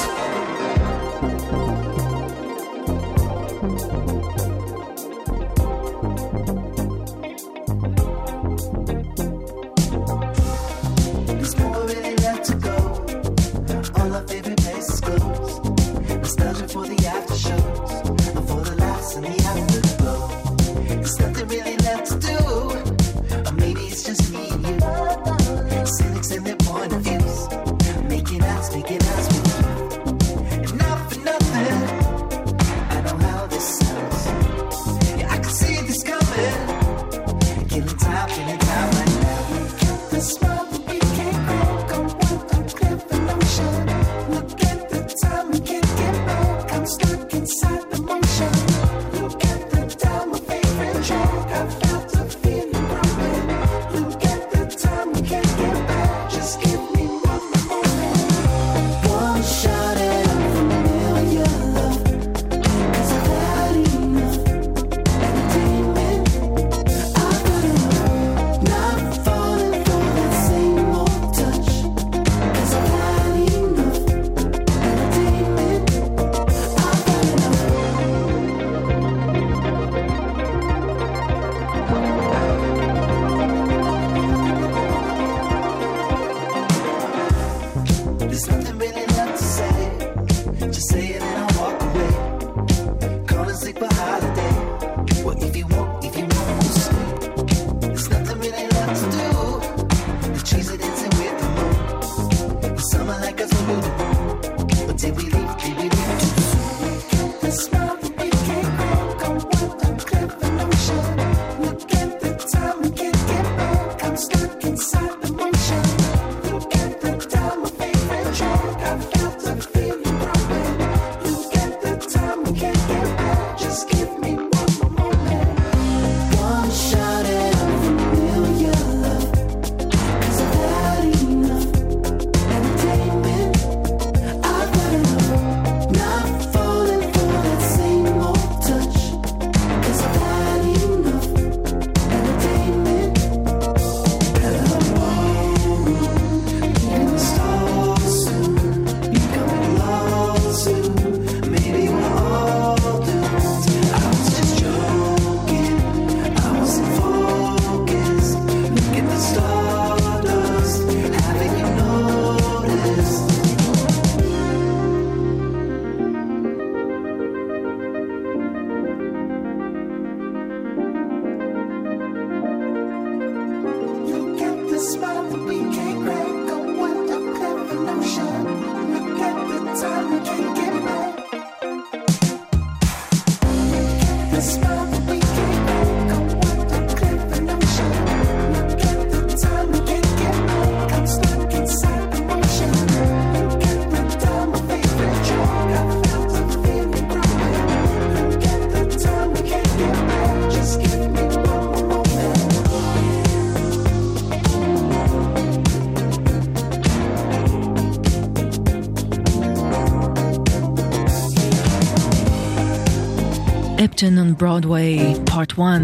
Upton on Broadway, Part 1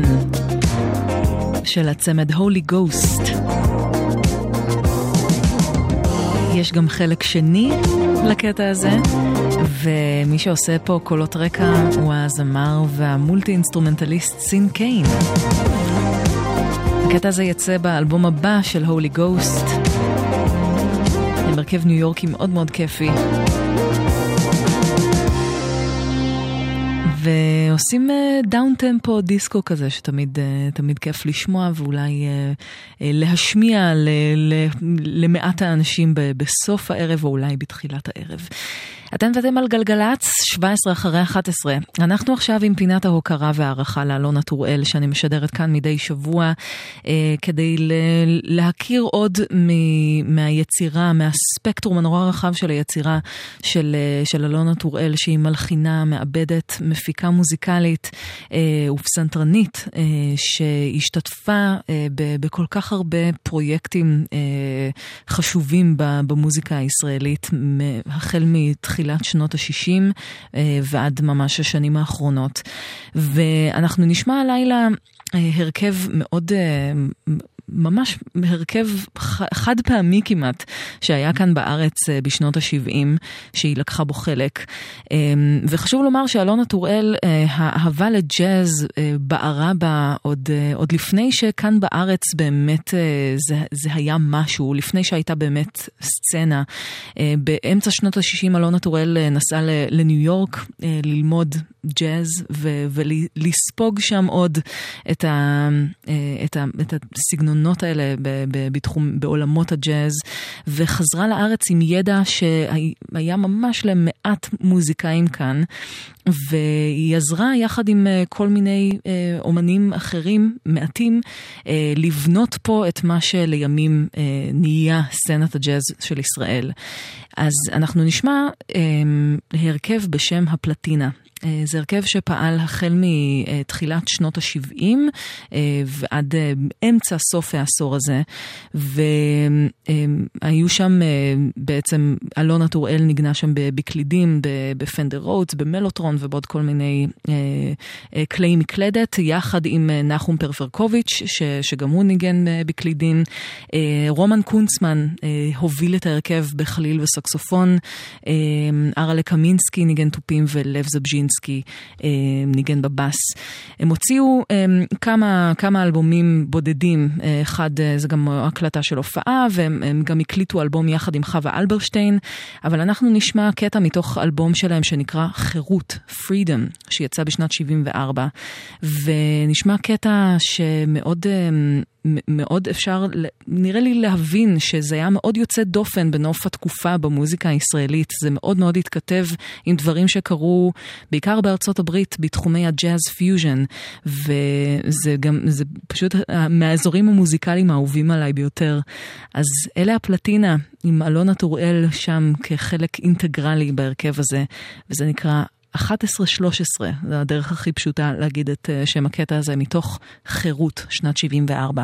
של הצמד Holy Ghost. יש גם חלק שני לקטע הזה, ומי שעושה פה קולות רקע הוא הזמר והמולטי אינסטרומנטליסט סין קיין. הקטע הזה יצא באלבום הבא של Holy Ghost, עם הרכב ניו יורקי מאוד מאוד כיפי, ועושים דאון טמפו דיסקו כזה שתמיד תמיד כיף לשמוע, ואולי להשמיע למעט האנשים בסוף הערב או אולי בתחילת הערב. אתם ואתם על גלגלץ, 17 אחרי 11. אנחנו עכשיו עם פינת ההוקרה והערכה לאלונה טוראל, שאני משדרת כאן מדי שבוע, כדי להכיר עוד מהיצירה, מהספקטרום הנורא רחב של היצירה של אלונה טוראל, שהיא מלחינה, מעבדת, מפיקה מוזיקלית ופסנתרנית, שהשתתפה בכל כך הרבה פרויקטים חשובים במוזיקה הישראלית, החל מתחילת שנות ה-60 ועד ממש השנים האחרונות. ואנחנו נשמע הלילה הרכב מאוד ממש הרכב חד פעמי כמעט, שהיה כאן בארץ בשנות ה-70, שהיא לקחה בו חלק. וחשוב לומר שאלונה טוראל, האהבה לג'אז בערה בה עוד לפני שכאן בארץ באמת זה היה משהו, לפני שהייתה באמת סצנה. באמצע שנות ה-60 אלונה טוראל נסעה לניו יורק ללמוד ג'אז ולספוג שם עוד את הסגנונות האלה בעולמות הג'אז, וחזרה לארץ עם ידע שהיה ממש למעט מוזיקאים כאן, והיא עזרה יחד עם כל מיני אומנים אחרים מעטים לבנות פה את מה שלימים נהיה סצנת הג'אז של ישראל. אז אנחנו נשמע הרכב בשם הפלטינה. זה הרכב שפעל החל מתחילת שנות ה-70 ועד אמצע סוף העשור הזה, והיו שם בעצם אלונה טוראל ניגנה שם בקלידים, בפנדר רודס, במלוטרון ובעוד כל מיני כלי מקלדת, יחד עם נחום פרפרקוביץ' שגם הוא ניגן בקלידים. רומן קונצמן הוביל את ההרכב בחליל וסקסופון, ארלה קמינסקי ניגן טופים ולב זבז'ינסקי ניגן בבאס. הם הוציאו כמה אלבומים בודדים, אחד זה גם הקלטה של הופעה, והם גם הקליטו אלבום יחד עם חווה אלברשטיין, אבל אנחנו נשמע קטע מתוך אלבום שלהם שנקרא חירות, Freedom, שיצא בשנת 74, ונשמע קטע שמאוד מאוד אפשר, נראה לי להבין שזה היה מאוד יוצא דופן בנוף התקופה במוזיקה הישראלית. זה מאוד מאוד התכתב עם דברים שקרו בעיקר בארצות הברית בתחומי הג'אז פיוז'ן, וזה גם, זה פשוט מהאזורים המוזיקליים האהובים עליי ביותר. אז אלה הפלטינה עם אלונה טוראל שם כחלק אינטגרלי בהרכב הזה, וזה נקרא 11-13, זה הדרך הכי פשוטה להגיד את שם הקטע הזה, מתוך חירות, שנת 74.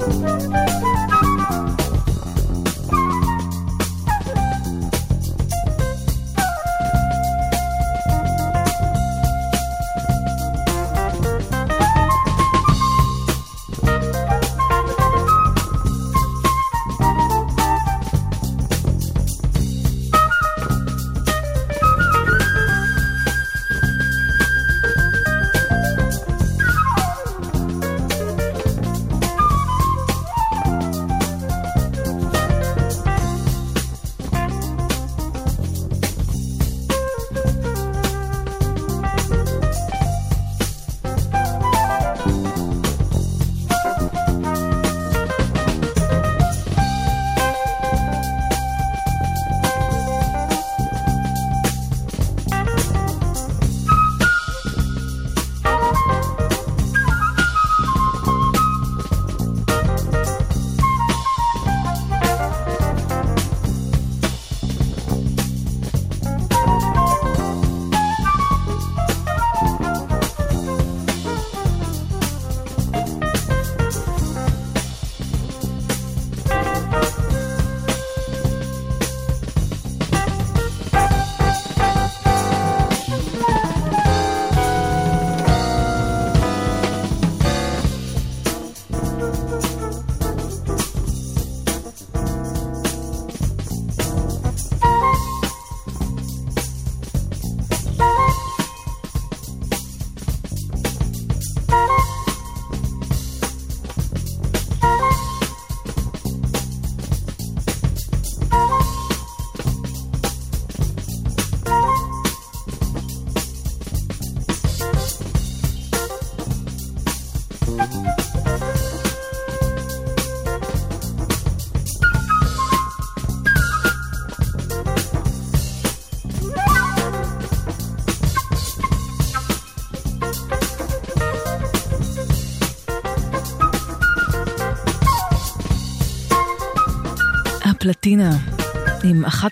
פלטינה עם 11-13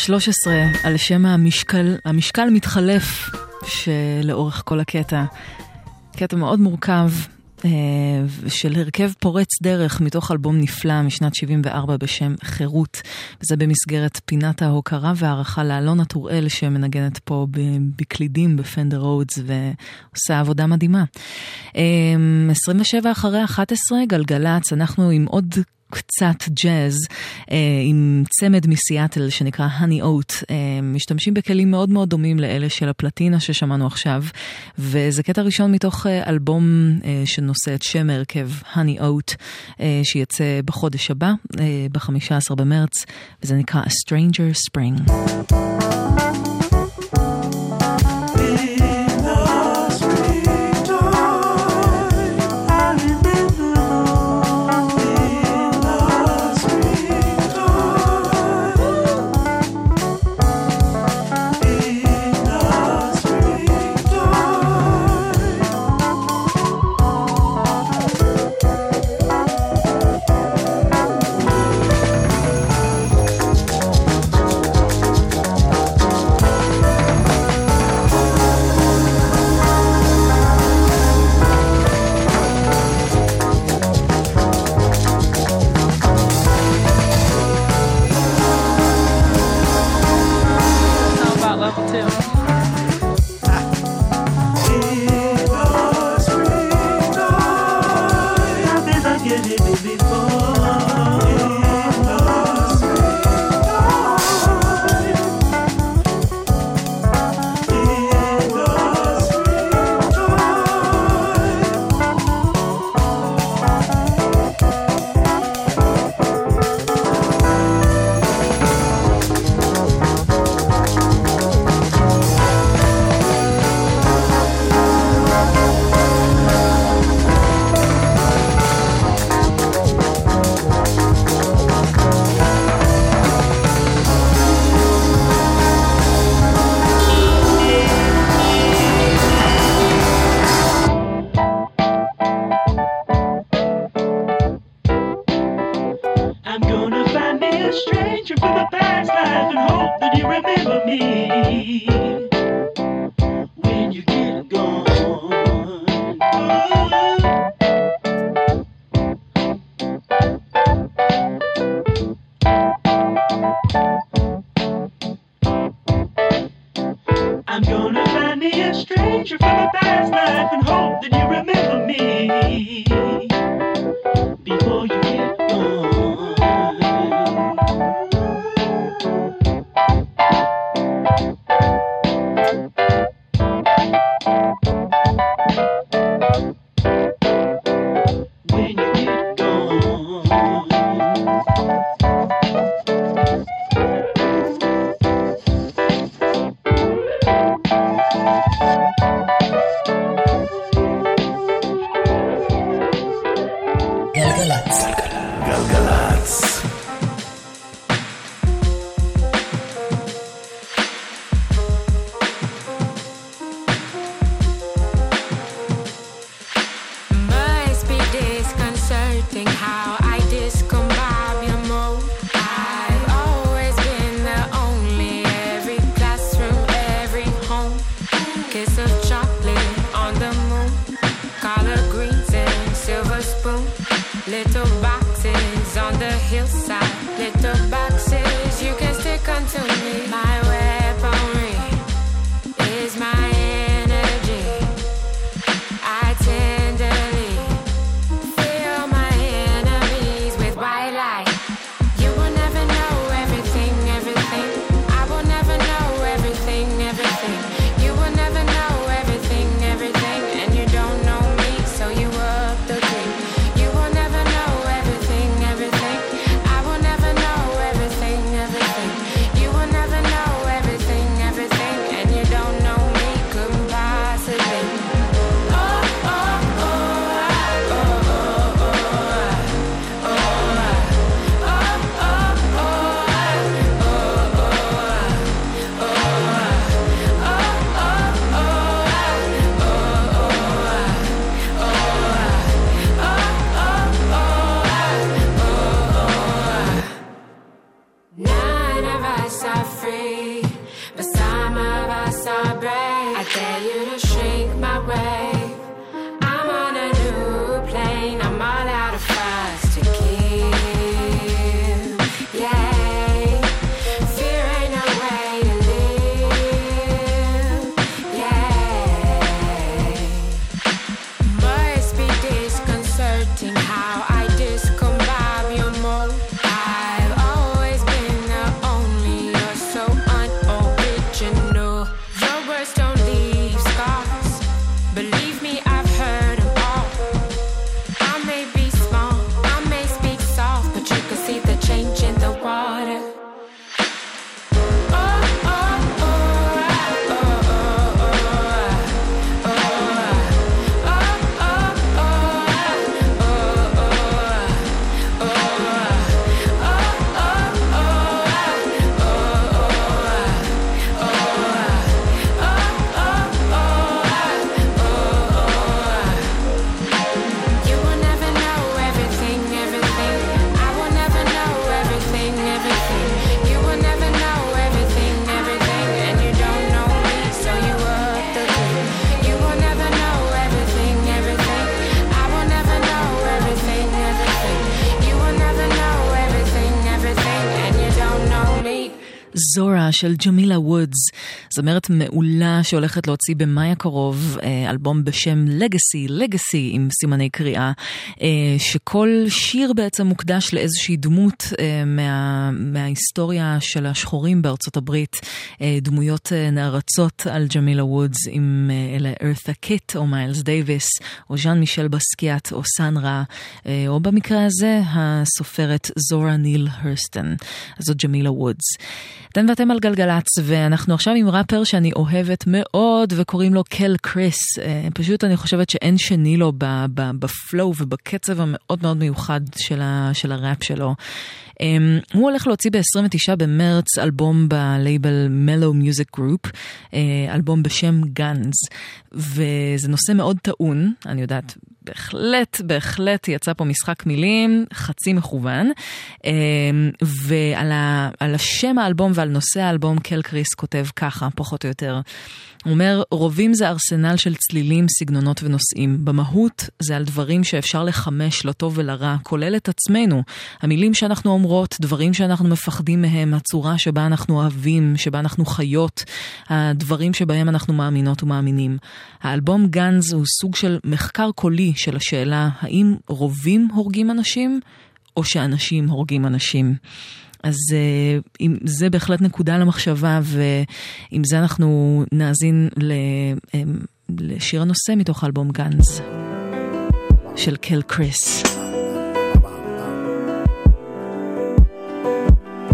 על שם המשקל מתחלף שלאורך כל הקטע. קטע מאוד מורכב של הרכב פורץ דרך מתוך אלבום נפלא משנת 74 בשם חירות, וזה במסגרת פינת ההוקרה והערכה לאלונה טוראל שמנגנת פה בקלידים בפנדר רודס ועושה עבודה מדהימה. 27 אחרי 11 גלגלץ, אנחנו עם עוד קצת ג'אז, עם צמד מסיאטל שנקרא Honey Oat, משתמשים בכלים מאוד מאוד דומים לאלה של הפלטינה ששמענו עכשיו, וזה קטע ראשון מתוך אלבום שנושא את שם הרכב Honey Oat, שיצא בחודש הבא, ב-15 במרץ, וזה נקרא A Stranger Spring. גלגלצ. גלגלצ. Little boxes on the hillside, little boxes you can stick onto me. My weaponry is my energy. I tenderly fill my enemies with white light. You will never know everything, everything. I will never know everything, everything. You will never know everything, everything. And you don't know me, so you up the creek. זורה של ג'מילה וודס, זמרת מעולה שהולכת להוציא במאי הקרוב אלבום בשם לגאסי עם סימני קריאה, שכל שיר בעצם מוקדש לאיזושהי דמות מההיסטוריה של השחורים בארצות הברית, דמויות נערצות על ג'מילה וודס, עם אלה ארת'ה קיט או מיילס דייביס או ז'אן מישל בסקיאט או סנרה, או במקרה הזה הסופרת זורה ניל הרסטון. אז זאת ג'מילה וודס. אתם ואתם על גלגלץ, ואנחנו עכשיו עם ראפר שאני אוהבת מאוד וקוראים לו קל קריס. פשוט אני חושבת שאין שני לו בפלואו ובקצב המאוד מאוד מיוחד של הראפ שלו. הוא הולך להוציא ב-29 במרץ אלבום בלייבל מלו מיוזיק גרופ, אלבום בשם גאנז, וזה נושא מאוד טעון, אני יודעת, בהחלט יצא פה משחק מילים חצי מכוון, ועל השם האלבום ועל נושא האלבום קל קריס כותב ככה, פחות או יותר. הוא אומר, רובים זה ארסנל של צלילים, סגנונות ונושאים. במהות זה על דברים שאפשר לחמש לטוב ולרע, כולל את עצמנו. המילים שאנחנו אומרות, דברים שאנחנו מפחדים מהם, הצורה שבה אנחנו אוהבים, שבה אנחנו חיות, הדברים שבהם אנחנו מאמינות ומאמינים. האלבום גאנז הוא סוג של מחקר קולי של השאלה, האם רובים הורגים אנשים, או שאנשים הורגים אנשים. אז זה בהחלט נקודה למחשבה, ועם זה אנחנו נאזין לשיר הנושא מתוך אלבום גאנז של קל קריס. Just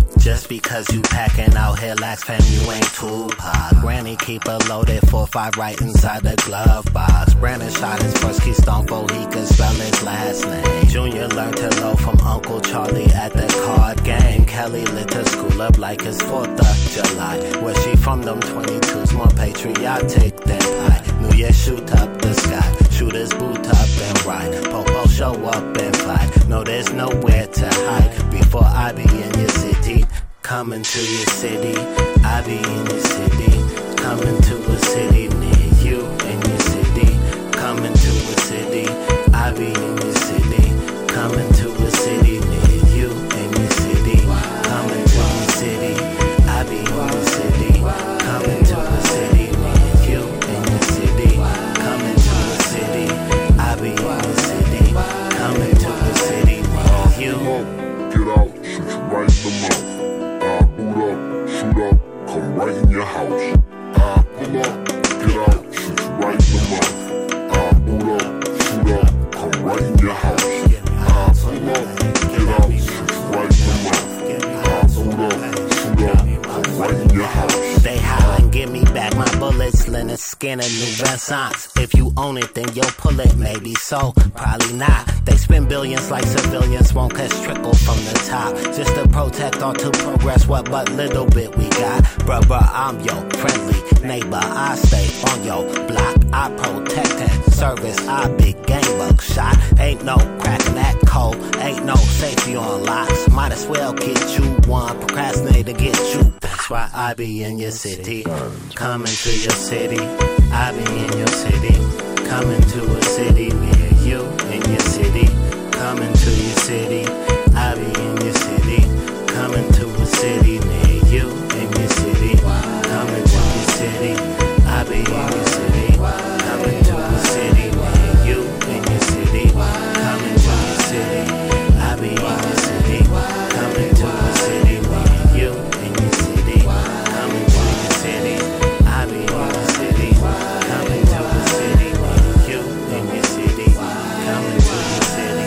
because you packing out here lax, fam, you ain't Tupac. Granny keep a loaded 4-5 right inside the glove box. Brandon shot his first keystone before he could spell his last name. Junior learned to low from Uncle Charlie at the card game. Kelly lit her school up like it's 4th of July. Where she from, them 22s more patriotic than I. New Year shoot up the sky, shooters boot up and ride. Popo show up and fly, no there's nowhere to hide. Before I be in your city, coming to your city. I be in your city, coming to a city near you in your city. Coming to a city, I be in your city, coming to a city near you in your city. Coming to your city, I be in your city, coming to a city near you in your city. Coming to a city, I be in your city, coming to a city near you. Get out, shoot you right in the mouth. I boot up, shoot up, come right in your house. I pull up, get out, shoot you right in the mouth. I boot up, shoot up, come right in your house. I pull up, get out, shoot you right in the mouth. I boot up, shoot up, come right in your house. They hollin', give me back my bullets, linen skin and new Renaissance. If you own it, then you'll pull it, maybe so, probably not. They spend billions like civilians, won't catch trickle from the top. Just to protect or to progress what but little bit we got. Bruh, I'm your friendly neighbor, I stay on your block. I protect and service, I big game buck shot. Ain't no cracking that code, ain't no safety on locks. Might as well get you one, procrastinate to get you. That's why I be in your city, coming to your city. I be in your city, coming to a city near you in your city. Coming to your city, I be in your city, coming to a city near you in your city. Coming to your city, I be in your city, coming to a city near you in your city. Coming to your city, I be in your city, coming to a city near you in your city. Coming to your city, I be in your city, coming to a city near you in your city. Coming to your city.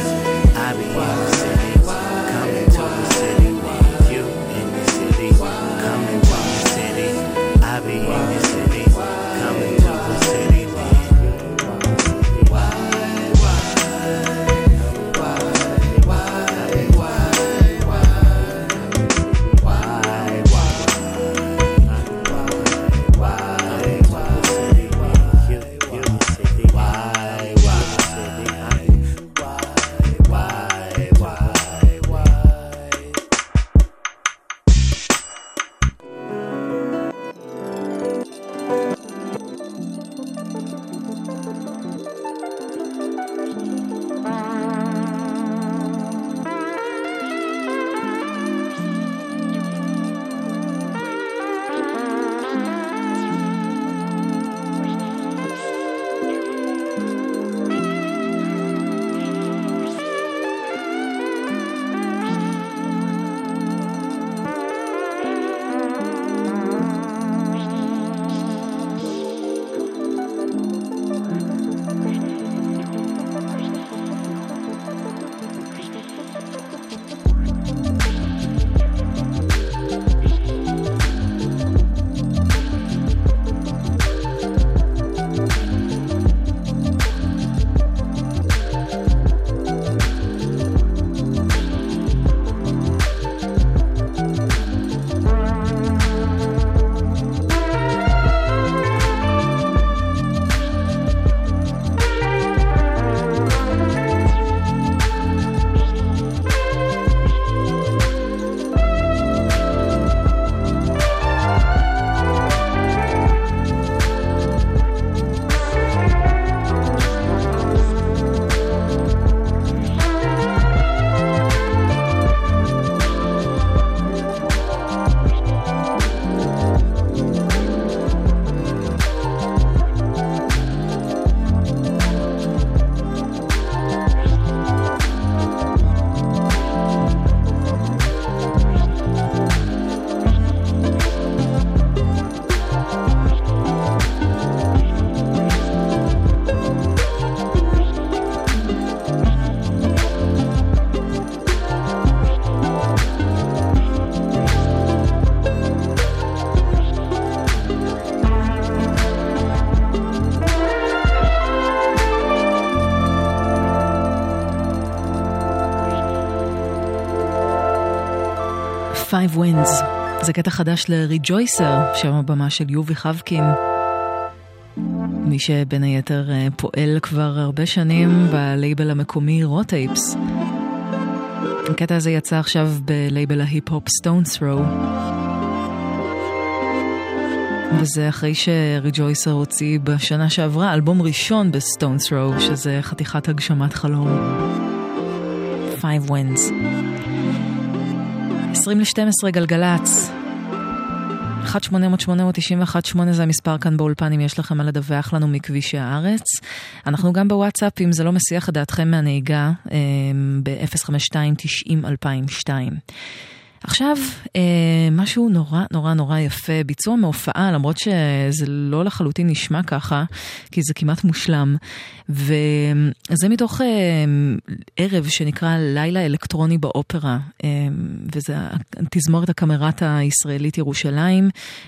Five Winds. זה קטע חדש לריג'ויסר, שם הבמה של יובי חבקין. מי שבין היתר פועל כבר הרבה שנים בלייבל המקומי רוטייפס. הקטע הזה יצא עכשיו בלייבל ההיפ-הופ Stones Throw. וזה אחרי שריג'ויסר הוציא בשנה שעברה אלבום ראשון ב-Stones Throw, שזה חתיכת הגשמת חלום. Five Winds. 20-12 גלגלץ. 1-800-891-8 זה המספר כאן באולפן אם יש לכם מה לדווח לנו מכבישי הארץ. אנחנו גם בוואטסאפ אם זה לא מסיח את דעתכם מהנהיגה ב-052-90-2002. עכשיו, משהו נורא נורא נורא יפה, ביצוע מהופעה, למרות שזה לא לחלוטין נשמע ככה, כי זה כמעט מושלם, וזה מתוך ערב שנקרא לילה אלקטרוני באופרה, וזה תזמורת הקאמרט הישראלית ירושלים,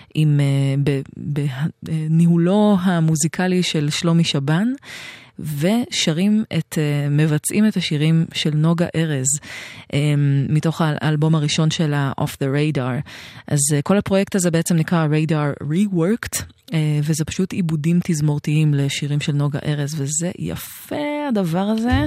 בניהולו המוזיקלי של שלומי שבן, ושרים מבצעים את השירים של נוגה ארז מתוך האלבום הראשון שלה Off the Radar. אז כל הפרויקט הזה בעצם נקרא Radar Reworked, וזה פשוט עיבודים תזמורתיים לשירים של נוגה ארז, וזה יפה הדבר הזה.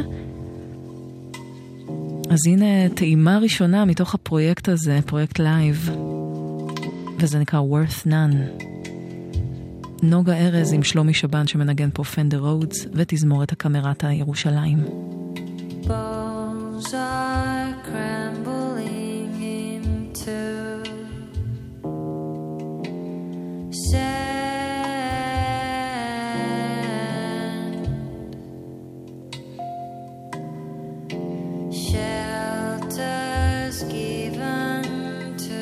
אז הנה טעימה ראשונה מתוך הפרויקט הזה, פרויקט לייב, וזה נקרא Worth None. נוגה ארז עם שלומי שבן שמנגן פה Fender Rhodes ותזמורת הקאמרט הירושלים. Bones are crumbling into sand. Shelters given to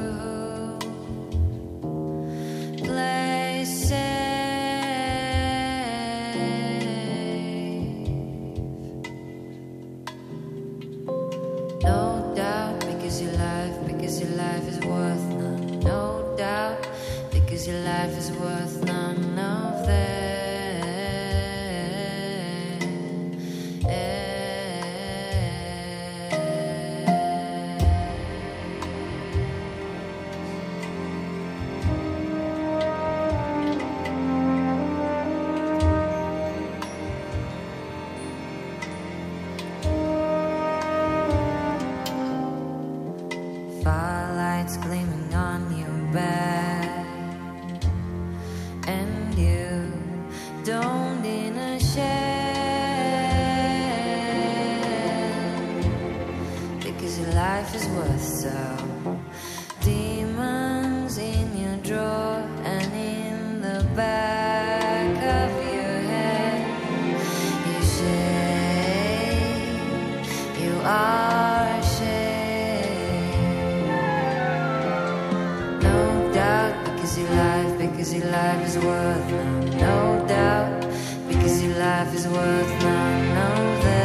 your life is worth none of firelights gleaming on your back. Don't in a shell, because your life is worth so. Demons in your drawer and in the back of your head. You shame, you are ashamed. No doubt, because your life is worth no doubt, because your life is worth none of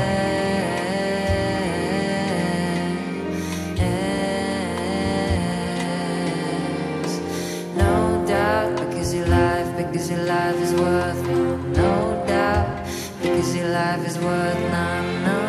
theirs. No doubt, because your life is worth no doubt, because your life is worth none of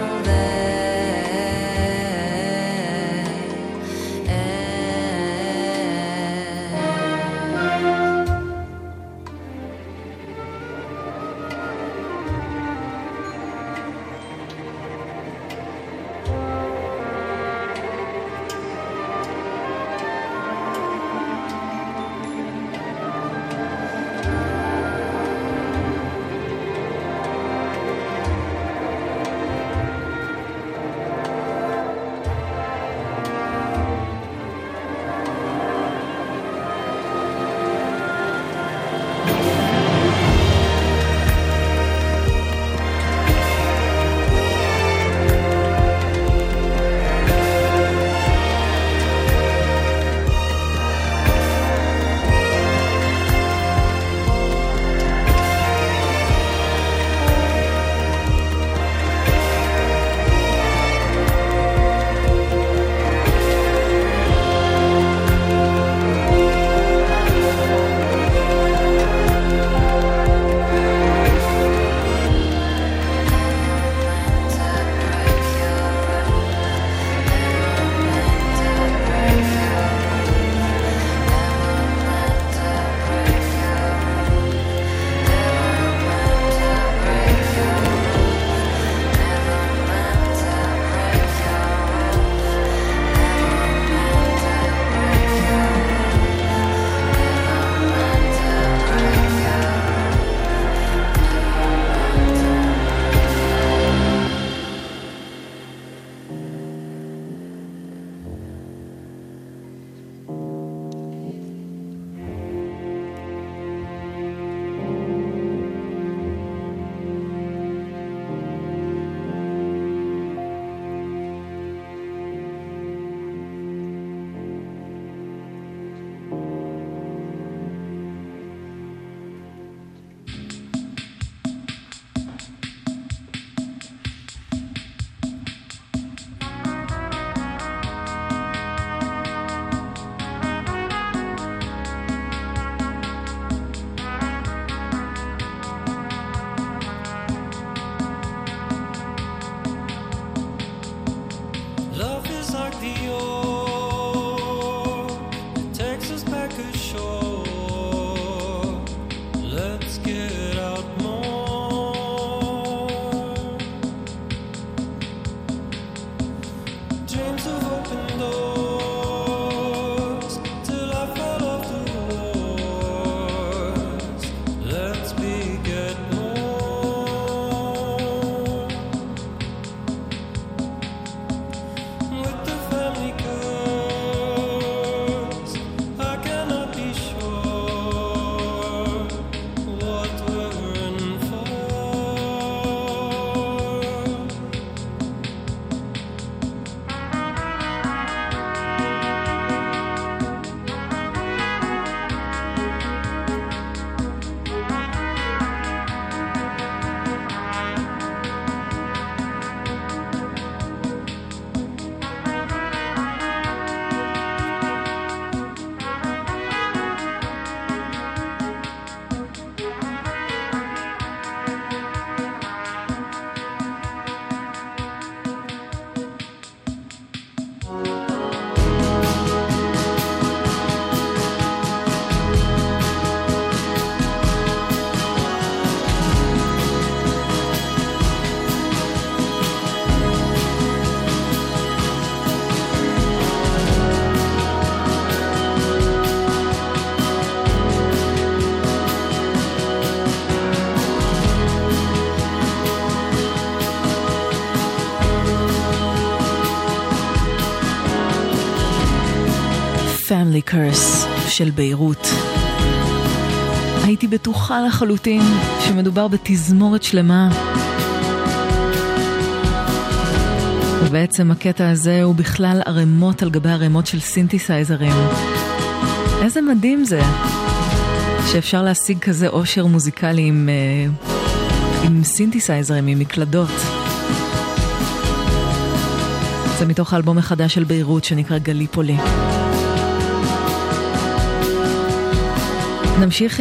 dreams of open doors till I fall off the wars. Let's beget more with the family curse. I cannot be sure what we're in for. Family Curse של ביירות. הייתי בטוחה לחלוטין שמדובר בתזמורת שלמה. ובעצם הקטע הזה הוא בכלל ערימות על גבי ערימות של סינתסייזרים. איזה מדהים זה שאפשר להשיג כזה עושר מוזיקלי עם סינתסייזרים, עם מקלדות. זה מתוך האלבום החדש של ביירות שנקרא גליפולי. נמשיך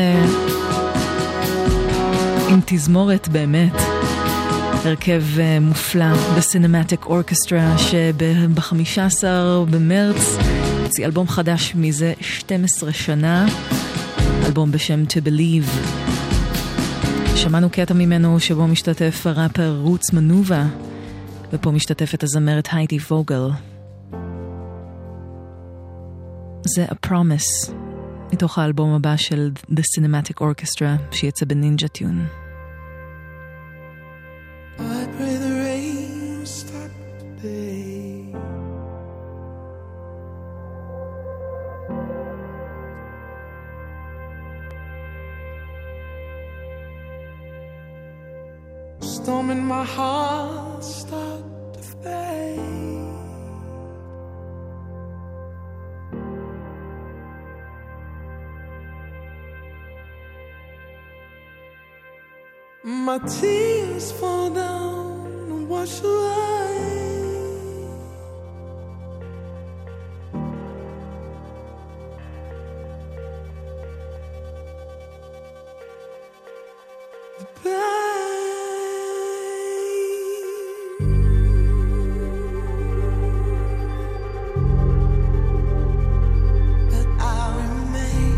עם תזמורת באמת, הרכב מופלא בסינמטיק אורקסטרה שב-15 במרץ הוציא אלבום חדש מזה 12 שנה, אלבום בשם To Believe. שמענו קטע ממנו שבו משתתף הראפר רוץ מנובה, ופה משתתפת הזמרת היידי ווגל. זה A Promise מתוך האלבום הבא של The Cinematic Orchestra שיצא בנינג'ה טיון. I pray the rain stop today. Storm in my heart start to fade. My tears fall down and wash away. The pain that I remain.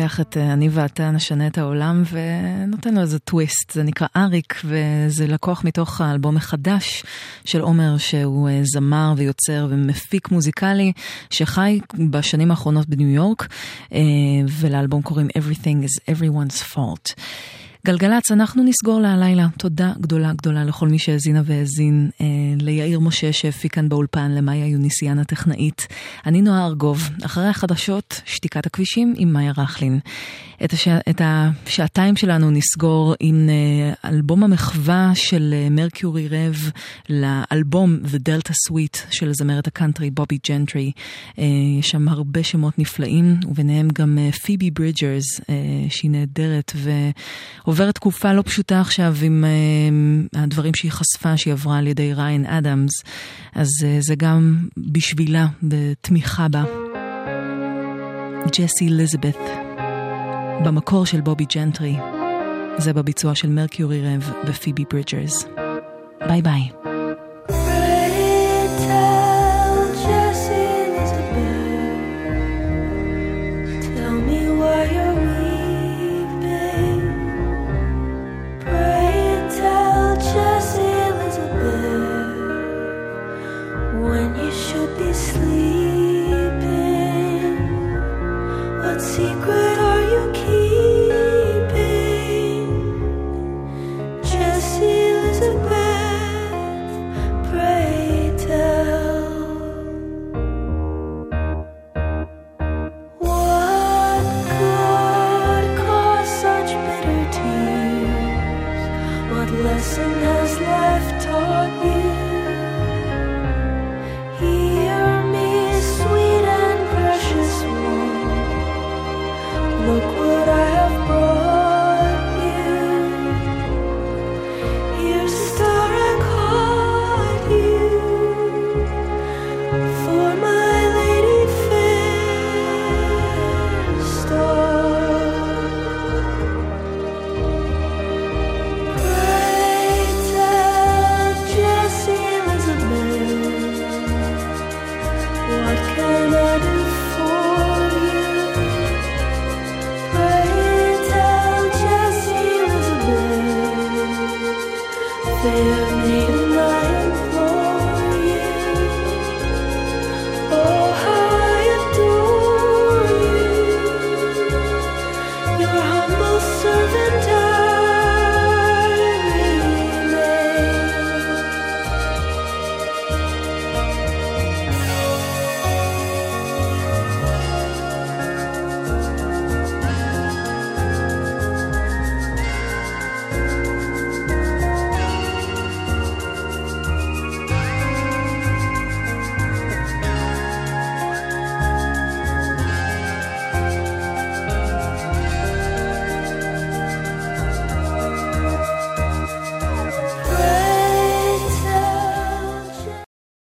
לוקח את אני ואתה נשנה את העולם ונותן לו איזה טוויסט. זה נקרא אריק, וזה לקוח מתוך האלבום החדש של עומר, שהוא זמר ויוצר ומפיק מוזיקלי שחי בשנים האחרונות בניו יורק, ולאלבום קוראים Everything is Everyone's Fault. גלגלץ, אנחנו נסגור להלילה. תודה גדולה גדולה לכל מי שהזינה והזין, ליאיר משה שהפיק כאן באולפן, למאיה יוניסיאן הטכנאית. אני נועה ארגוב. אחרי החדשות, שתיקת הכבישים עם מאיה רחלין. את השעתיים שלנו נסגור עם אלבום המחווה של מרקיורי רב לאלבום The Delta Suite של זמרת הקאנטרי בובי ג'נטרי. יש שם הרבה שמות נפלאים, וביניהם גם פיבי ברידג'רס, שהיא נהדרת ועוברת תקופה לא פשוטה עכשיו עם הדברים שהיא חשפה, שהיא עברה על ידי ריין אדמס. אז זה גם בשבילה, בתמיכה בה. ג'סי אליזבת, במקור של בובי ג'נטרי, זה בביצוע של מרקיורי רב ופיבי ברידג'רס. ביי ביי. Secret are you keeping? Jessie Elizabeth, pray tell. What could cause such bitter tears? What lesson has life taught you? Hear me, sweet and precious one. Look what I have brought you. Here's a star I caught you for my lady fair star. Pray tell Jessie Elizabeth, what can I do for you? Fair maiden